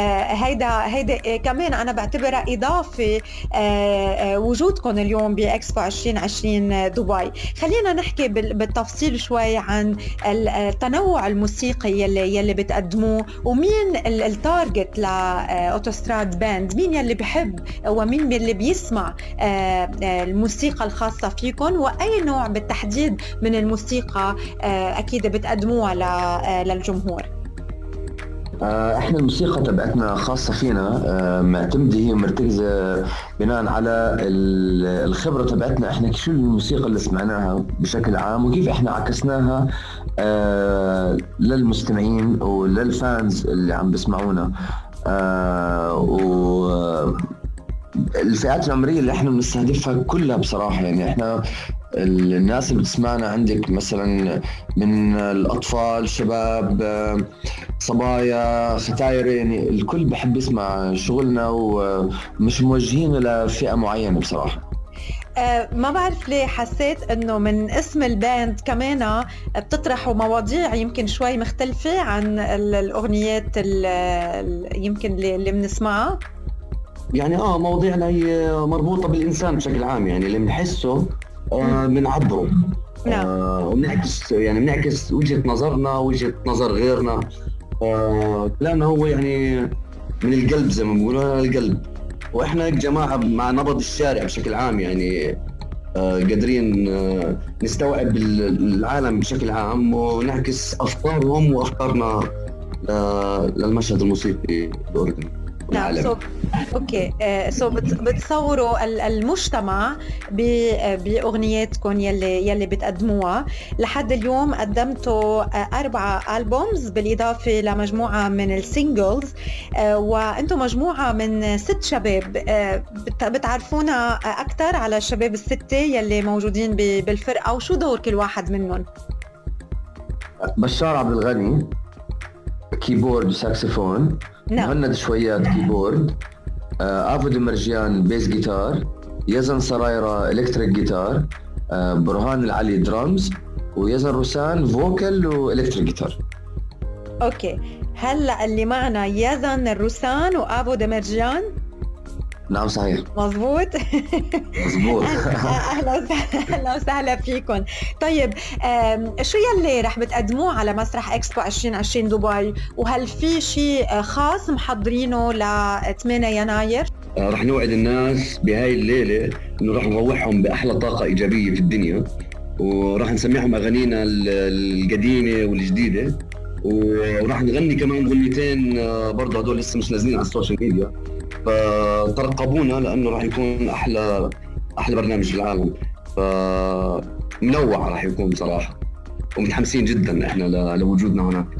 هيدا كمان انا بعتبرها اضافه وجودكم اليوم باكسبو 2020 دبي. خلينا نحكي بالتفصيل شوي عن التنوع الموسيقي يلي بتقدموه، ومين التارجت لاوتوستراد باند، مين يلي بيحب ومين يلي بيسمع الموسيقى الخاصه فيكم، واي نوع بالتحديد من الموسيقى اكيد بتقدموها للجمهور. احنا الموسيقى تبعتنا خاصة فينا، معتمدة هي مرتكزة بناء على الخبرة تبعتنا احنا، شو الموسيقى اللي سمعناها بشكل عام وكيف احنا عكسناها للمستمعين وللفانز اللي عم بسمعونا. الفئات العمرية اللي احنا بنستهدفها كلها بصراحة، يعني احنا الناس اللي بتسمعنا عندك مثلا من الأطفال، شباب، صبايا، ختاير، يعني الكل بحب يسمع شغلنا ومش موجهين لفئة معينة بصراحة. ما بعرف ليه حسيت انه من اسم الباند كمان بتطرحوا مواضيع يمكن شوي مختلفة عن الأغنيات يمكن اللي بنسمعها. يعني مواضيعنا هي مربوطة بالإنسان بشكل عام، يعني اللي بنحسه بنعبره. وبنعكس وجهة نظرنا، وجهة نظر غيرنا. كلامنا هو يعني من القلب زي ما بيقولوا، القلب. واحنا جماعة مع نبض الشارع بشكل عام، يعني قادرين نستوعب العالم بشكل عام ونعكس أفكارهم وأفكارنا للمشهد الموسيقي الأردني. نعم. اوكي. بتصوروا المجتمع باغنياتكم يلي بتقدموها. لحد اليوم قدمتوا 4 ألبومز بالاضافه لمجموعه من السينجلز، وانتم مجموعه من 6 شباب. بتعرفونا اكثر على الشباب ال6 يلي موجودين بالفرقه، وشو دور كل واحد منهم؟ بشار عبد الغني كيبورد وساكسفون، مهند شويات كيبورد، آفو دمرجيان بيس جيتار، يزن سرايرة إلكتريك جيتار، برهان العلي درامز، ويزن روسان فوكل وإلكتريك جيتار. أوكي. هلأ اللي معنا يزن الروسان وآفو دمرجيان. نعم صحيح. مظبوط. مظبوط. أهلا وسهلا فيكم. طيب شو يلي رح بتقدموه على مسرح اكسبو 2020 دبي، وهل في شيء خاص محضرينه ل 8 يناير؟ رح نوعد الناس بهاي الليلة انه رح نروحهم بأحلى طاقة إيجابية في الدنيا، ورح نسمعهم أغانينا القديمة والجديدة، ورح نغني كمان غنيتين برضه هدول لسه مش نازلين على السوشيال ميديا، فترقبونا لأنه راح يكون أحلى برنامج في العالم. فمنوع راح يكون بصراحة، ومتحمسين جدا إحنا لوجودنا هناك.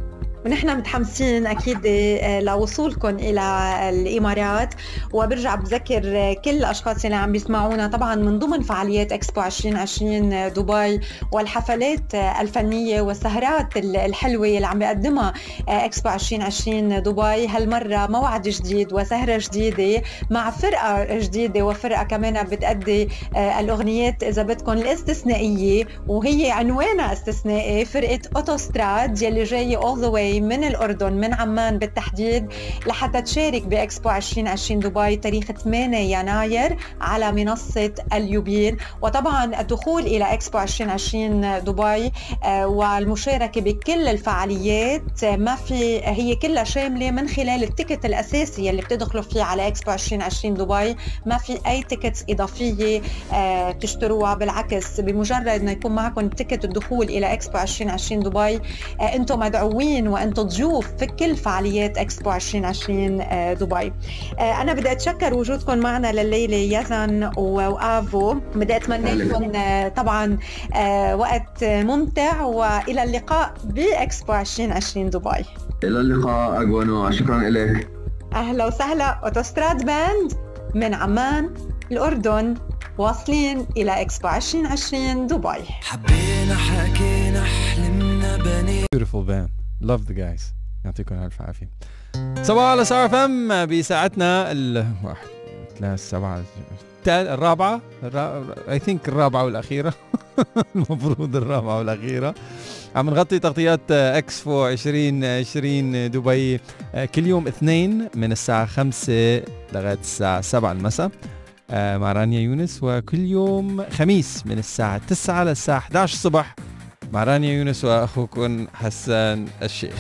ونحن متحمسين أكيد لوصولكم إلى الإمارات. وبرجع بذكر كل الأشخاص اللي عم بيسمعونا طبعا من ضمن فعاليات إكسبو 2020 دبي والحفلات الفنية والسهرات الحلوة اللي عم بيقدمها إكسبو 2020 دبي. هالمرة موعد جديد وسهرة جديدة مع فرقة جديدة وفرقة كمان بتأدي الأغنيات إذا بدكم الاستثنائية، وهي عنوانها استثنائي، فرقة أوتوستراد يلي جاي all the way من الأردن من عمان بالتحديد لحتى تشارك بإكسبو 2020 دبي تاريخ 8 يناير على منصة اليوبيل. وطبعا الدخول إلى إكسبو 2020 دبي والمشاركة بكل الفعاليات ما في، هي كلها شاملة من خلال التيكت الأساسي اللي بتدخلوا فيه على إكسبو 2020 دبي. ما في أي تيكتس إضافية تشتروها، بالعكس بمجرد أن يكون معكم تيكت الدخول إلى إكسبو 2020 دبي أنتم مدعوين وأنتم ضيوف في كل فعاليات إكسبو 2020 دبي. أنا بدي أتشكر وجودكم معنا لليلة يزن وآفو، بدي أتمنى لكم طبعا وقت ممتع، وإلى اللقاء بإكسبو 2020 دبي. إلى اللقاء أجوانا، شكرا لك. أهلا وسهلا. أوتوستراد باند من عمان الأردن واصلين إلى إكسبو 2020 دبي. حبينا حكينا حلمنا بني. Beautiful band. Love the guys. يعطيكم ألف عافية. صباح على ستار اف ام بساعتنا الواحد ثلاث سبعة الرابعة I think الرابعة والأخيرة المفروض الرابعة والأخيرة. عم نغطي تغطيات اكسبو 2020 دبي كل يوم اثنين من الساعة 5 لغاية الساعة 7 المساء مع رانيا يونس، وكل يوم خميس من الساعة 9 للساعة 11 الصبح مع رانيا يونس وأخوكم حسان الشيخ.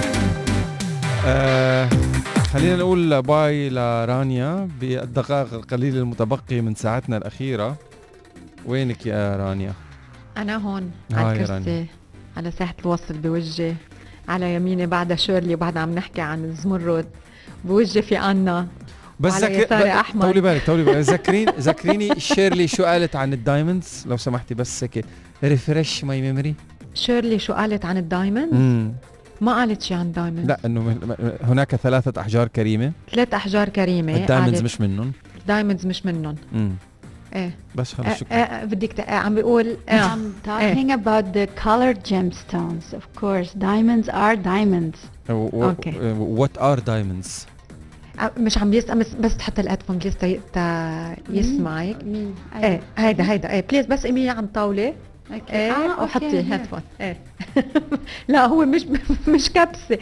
خلينا نقول باي لرانيا بالدقائق القليلة المتبقية من ساعتنا الأخيرة. وينك يا رانيا؟ أنا هون على الكرسي على ساحة الوصل بوجهي، على يميني بعدها شيرلي وبعدها عم نحكي عن الزمرد، بوجهي في أنا بس طولي بالك ذكريني شيرلي شو قالت عن الدايموندز لو سمحتي، بس هيك ريفرش ماي ميموري. شيرلي شو قالت عن الدايموندز؟ ما قالت شيء عن الدايموندز. لا انه هناك 3 أحجار كريمة. 3 أحجار كريمة. الدايموندز مش منهم. الدايموندز مش منهم. ايه بس خلص شكرا. بدك عم بيقول I'm talking about the colored gemstones. Of course, diamonds are diamonds. Okay. What are diamonds? مش عم يسمع بس تحط الهيدفون بليز يسمعك. مين؟ ايه هيدا ايه بليز بس امي عم طاولة. ايه وحطي هيدفون. ايه لا هو مش كبسة.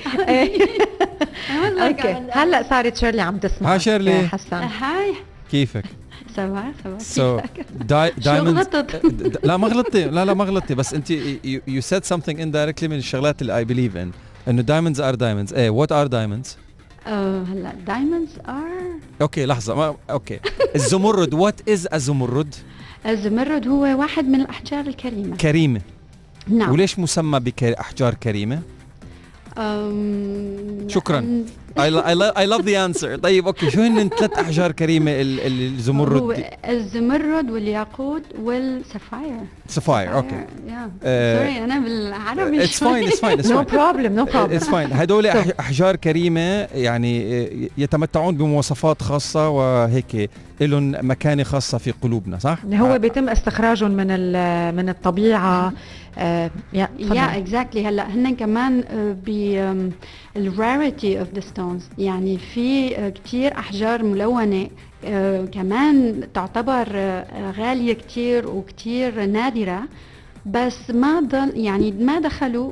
اوكي هلا صارت شيرلي عم تسمع. هاي شيرلي. حسن هاي كيفك؟ سوا diamonds. لا ما غلطتي بس انت you said something indirectly من الشغلات اللي I believe in انه diamonds are diamonds. ايه what are diamonds؟ هلا diamonds are. اوكي لحظة اوكي الزمرد what is الزمرد؟ الزمرد هو واحد من الأحجار الكريمة. كريمة. نعم. وليش مسمى بأحجار كريمة؟ شكرا. I love the answer. طيب اوكي شو هن 3 أحجار كريمة الزمرد؟ هو الزمرد والياقوت والسفاير. سفاير اوكي. سوري انا بالعربي. It's fine. No problem. It's fine. هدول أحجار كريمة يعني يتمتعون بمواصفات خاصة وهيك لهم مكانة خاصة في قلوبنا، صح؟ هو بيتم استخراجهم من الطبيعة. exactly. هلا هن كمان الراريتي اوف ذا ستونز، يعني في كتير احجار ملونة كمان تعتبر غالية كتير وكتير نادرة، بس ما دخلوا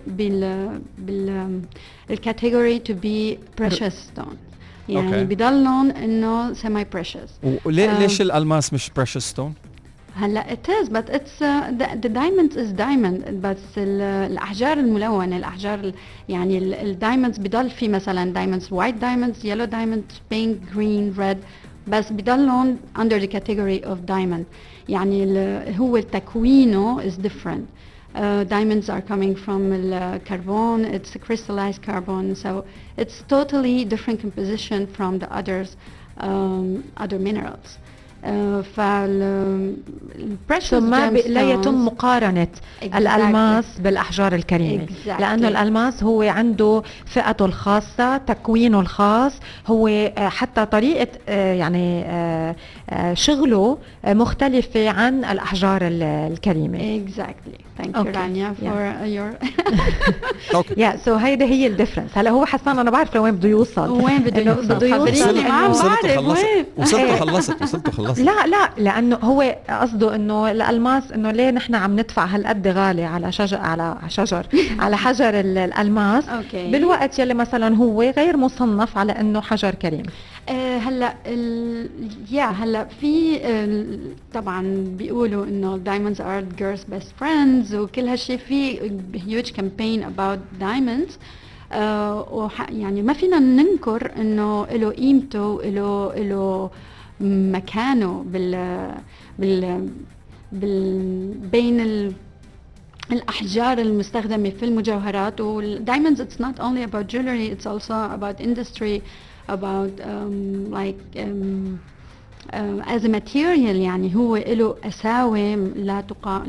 بالكاتيجوري to be precious stone، يعني بيضلون انه semi precious. ليش الألماس مش precious stone؟ هلا it is but it's the diamond is diamond، بس الأحجار الملونة، الأحجار يعني الدايموندز بضل في مثلا diamonds white diamonds yellow diamonds pink green red، بس بضلون under the category of diamond، يعني هو تكوينه is different. Diamonds are coming from carbon, it's a crystallized carbon, so it's totally different composition from the other minerals. لا يتم مقارنة الألماس بالأحجار الكريمة، لأنه الألماس هو عنده فئته الخاصة، تكوينه الخاص، هو حتى طريقة يعني شغله مختلفة عن الأحجار الكريمة. Exactly. Thank you Rania for your so هيدا هي الديفرنس. هلا هو حسان أنا بعرف لوين بده يوصل، وين بده يوصل ما بعرف وين وصلت خلصت. لا لأنه هو قصده إنه الألماس إنه ليه نحن عم ندفع هالقد غالي على على حجر الألماس بالوقت يلي مثلا هو غير مصنف على إنه حجر كريم. هلا هلا في طبعا بيقولوا انه diamonds are girls best friends وكل هالشيء، في huge campaign about diamonds. يعني ما فينا ننكر انه له قيمته، له مكانه بين الأحجار المستخدمة في المجوهرات. والdiamonds it's not only about jewelry, it's also about industry, about as a material. يعني هو له أساوي لا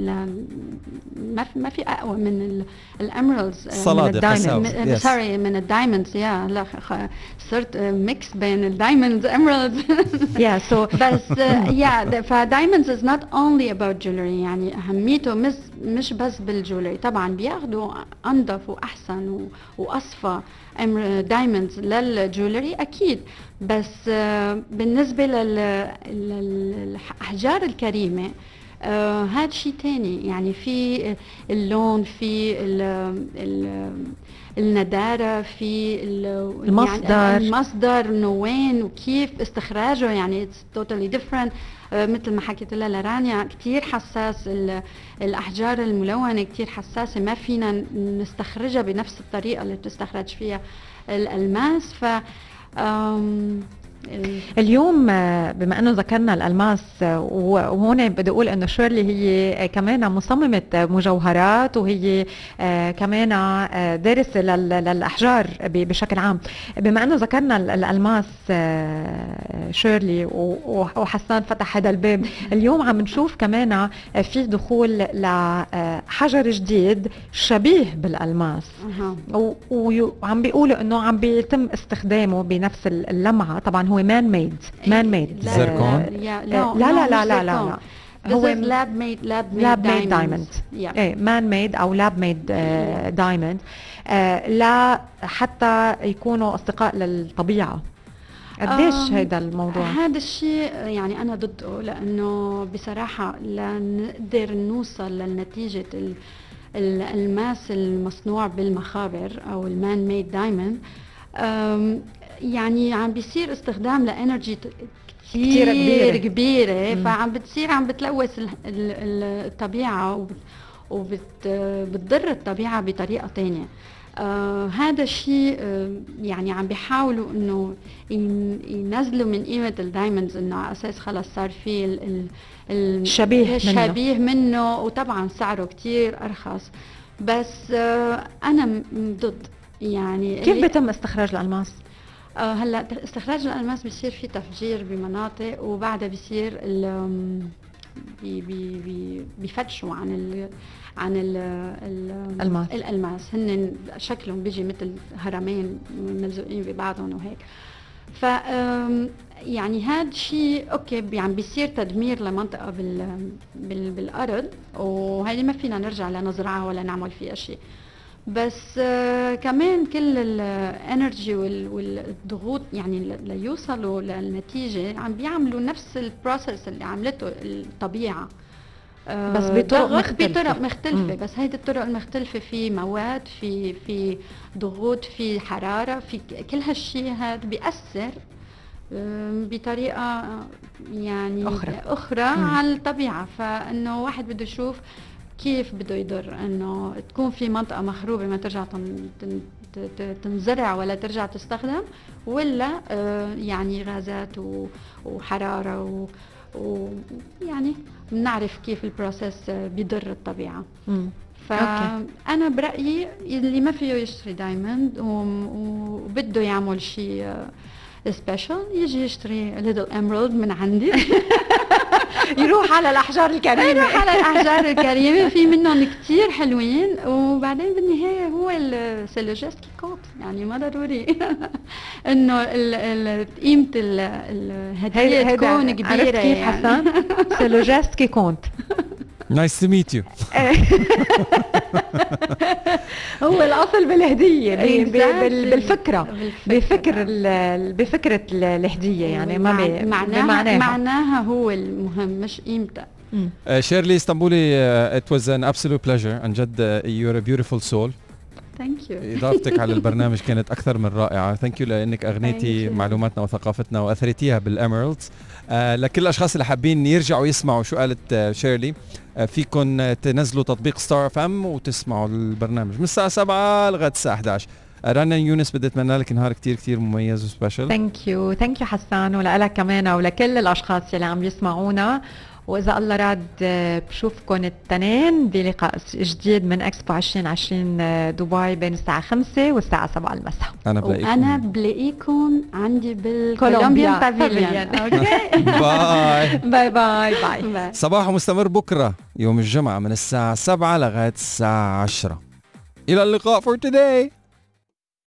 ما في أقوى من الأميرالز، سوري من الدايموندز. لا صرت ميكس بين الدايموندز اميرالدز. بس فدايموندز is not only about jewelry. يعني أهميته مش بس بالجولري، طبعا بياخدوا أنظف وأحسن وأصفى دايموندز للجولري أكيد، بس بالنسبة للأحجار الكريمة هاد شيء تاني. يعني في اللون، في الندارة، في المصدر انه وين وكيف استخراجه. يعني it's totally different. مثل ما حكيت لها لرانيا كتير حساس، الأحجار الملونة كتير حساسة، ما فينا نستخرجها بنفس الطريقة اللي بتستخرج فيها الألماس. اليوم بما انه ذكرنا الالماس، وهون بدي اقول انه شيرلي هي كمان مصممه مجوهرات، وهي كمان دارسه للاحجار بشكل عام. بما انه ذكرنا الالماس شيرلي وحسان فتح هذا الباب، اليوم عم نشوف كمان في دخول لحجر جديد شبيه بالالماس، وعم بيقولوا انه عم بيتم استخدامه بنفس اللمعه. طبعا هو مان ميد زركون. لا هو لاب ميد دايموند. مان ميد او لاب ميد دايموند، لا حتى يكونوا اصدقاء للطبيعه. قديش هيدا الموضوع؟ هذا الشيء يعني انا ضده، لانه بصراحه لنقدر نوصل لنتيجه الالماس المصنوع بالمخابر او المان ميد دايموند، يعني عم بيصير استخدام لانرجي كثير كبيره، فعم بتلوث الطبيعه وبتضر الطبيعه بطريقه ثانيه. هذا الشيء يعني عم بيحاولوا انه ينزلوا من قيمه الدايموندز، انه على اساس خلص صار في الشبيه منه، وطبعا سعره كثير ارخص. بس انا ضد. يعني كيف بيتم استخراج الالماس؟ هلا استخراج الالماس بيصير في تفجير بمناطق، وبعدها بيصير بيفتشوا عن الالماس. هن شكلهم بيجي مثل هرمين ملزوقين ببعضهم وهيك. ف يعني هذا شيء اوكي، عم بيصير تدمير لمنطقه بالارض، وهذه ما فينا نرجع لنزرعها ولا نعمل فيها شيء. بس كمان كل الانرجي والضغوط يعني ليوصلوا للنتيجه عم بيعملوا نفس البروسيس اللي عملته الطبيعه، بس بطرق مختلفه. بس هيدي الطرق المختلفه في مواد، في ضغوط، في حراره، في كل هالشيء هذا بيأثر بطريقه يعني اخرى على الطبيعه. فانه واحد بده يشوف كيف بده يضر انه تكون في منطقه مخروبه ما ترجع تنزرع ولا ترجع تستخدم، ولا يعني غازات وحراره ويعني بنعرف كيف البروسيس بيضر الطبيعه. فانا برايي اللي ما فيه يشتري دايموند وبده يعمل شيء سبيشال يجي يشتري ليتل اميرالد من عندي. يروح على الأحجار الكريمة. يروح على الأحجار الكريمة، في منهم كتير حلوين، وبعدين بالنهاية هو سي لو جيست كي كونت، يعني ما ضروري إنه قيمة الهدية تكون كبيرة. عرفت كيف حسان؟ سي لو جيست كي كونت. نايس تو ميت يو. هو الأصل بالهدية، بالفكرة، بفكرة الهدية، يعني ما معناها هو المهم مش قيمتها. شيرلي اسطنبولي, it was an absolute pleasure. عن جد you're a beautiful soul. Thank you. إضافتك على البرنامج كانت أكثر من رائعة. Thank you لأنك أغنيتي معلوماتنا وثقافتنا وأثريتيها بالإميرالدز. لكل الأشخاص اللي حابين يرجعوا يسمعوا شو قالت شيرلي, فيكن تنزلوا تطبيق ستار اف ام وتسمعوا البرنامج من الساعة 7 لغاية الساعة 11. رنا يونس بدي اتمنى لك نهار كتير كتير مميز وسبيشل. ثانك يو حسان، ولك كمان ولكل الاشخاص اللي عم يسمعونا. واذا الله راد بشوفكم الاثنين بلقاء جديد من اكسبو 2020 دبي بين الساعه 5 والساعه 7 المساء. انا بلاقيكم عندي بالكولومبيان بافيليون. اوكي باي باي باي باي. صباح مستمر بكره يوم الجمعه من الساعه 7 لغايه الساعه 10. الى اللقاء for today.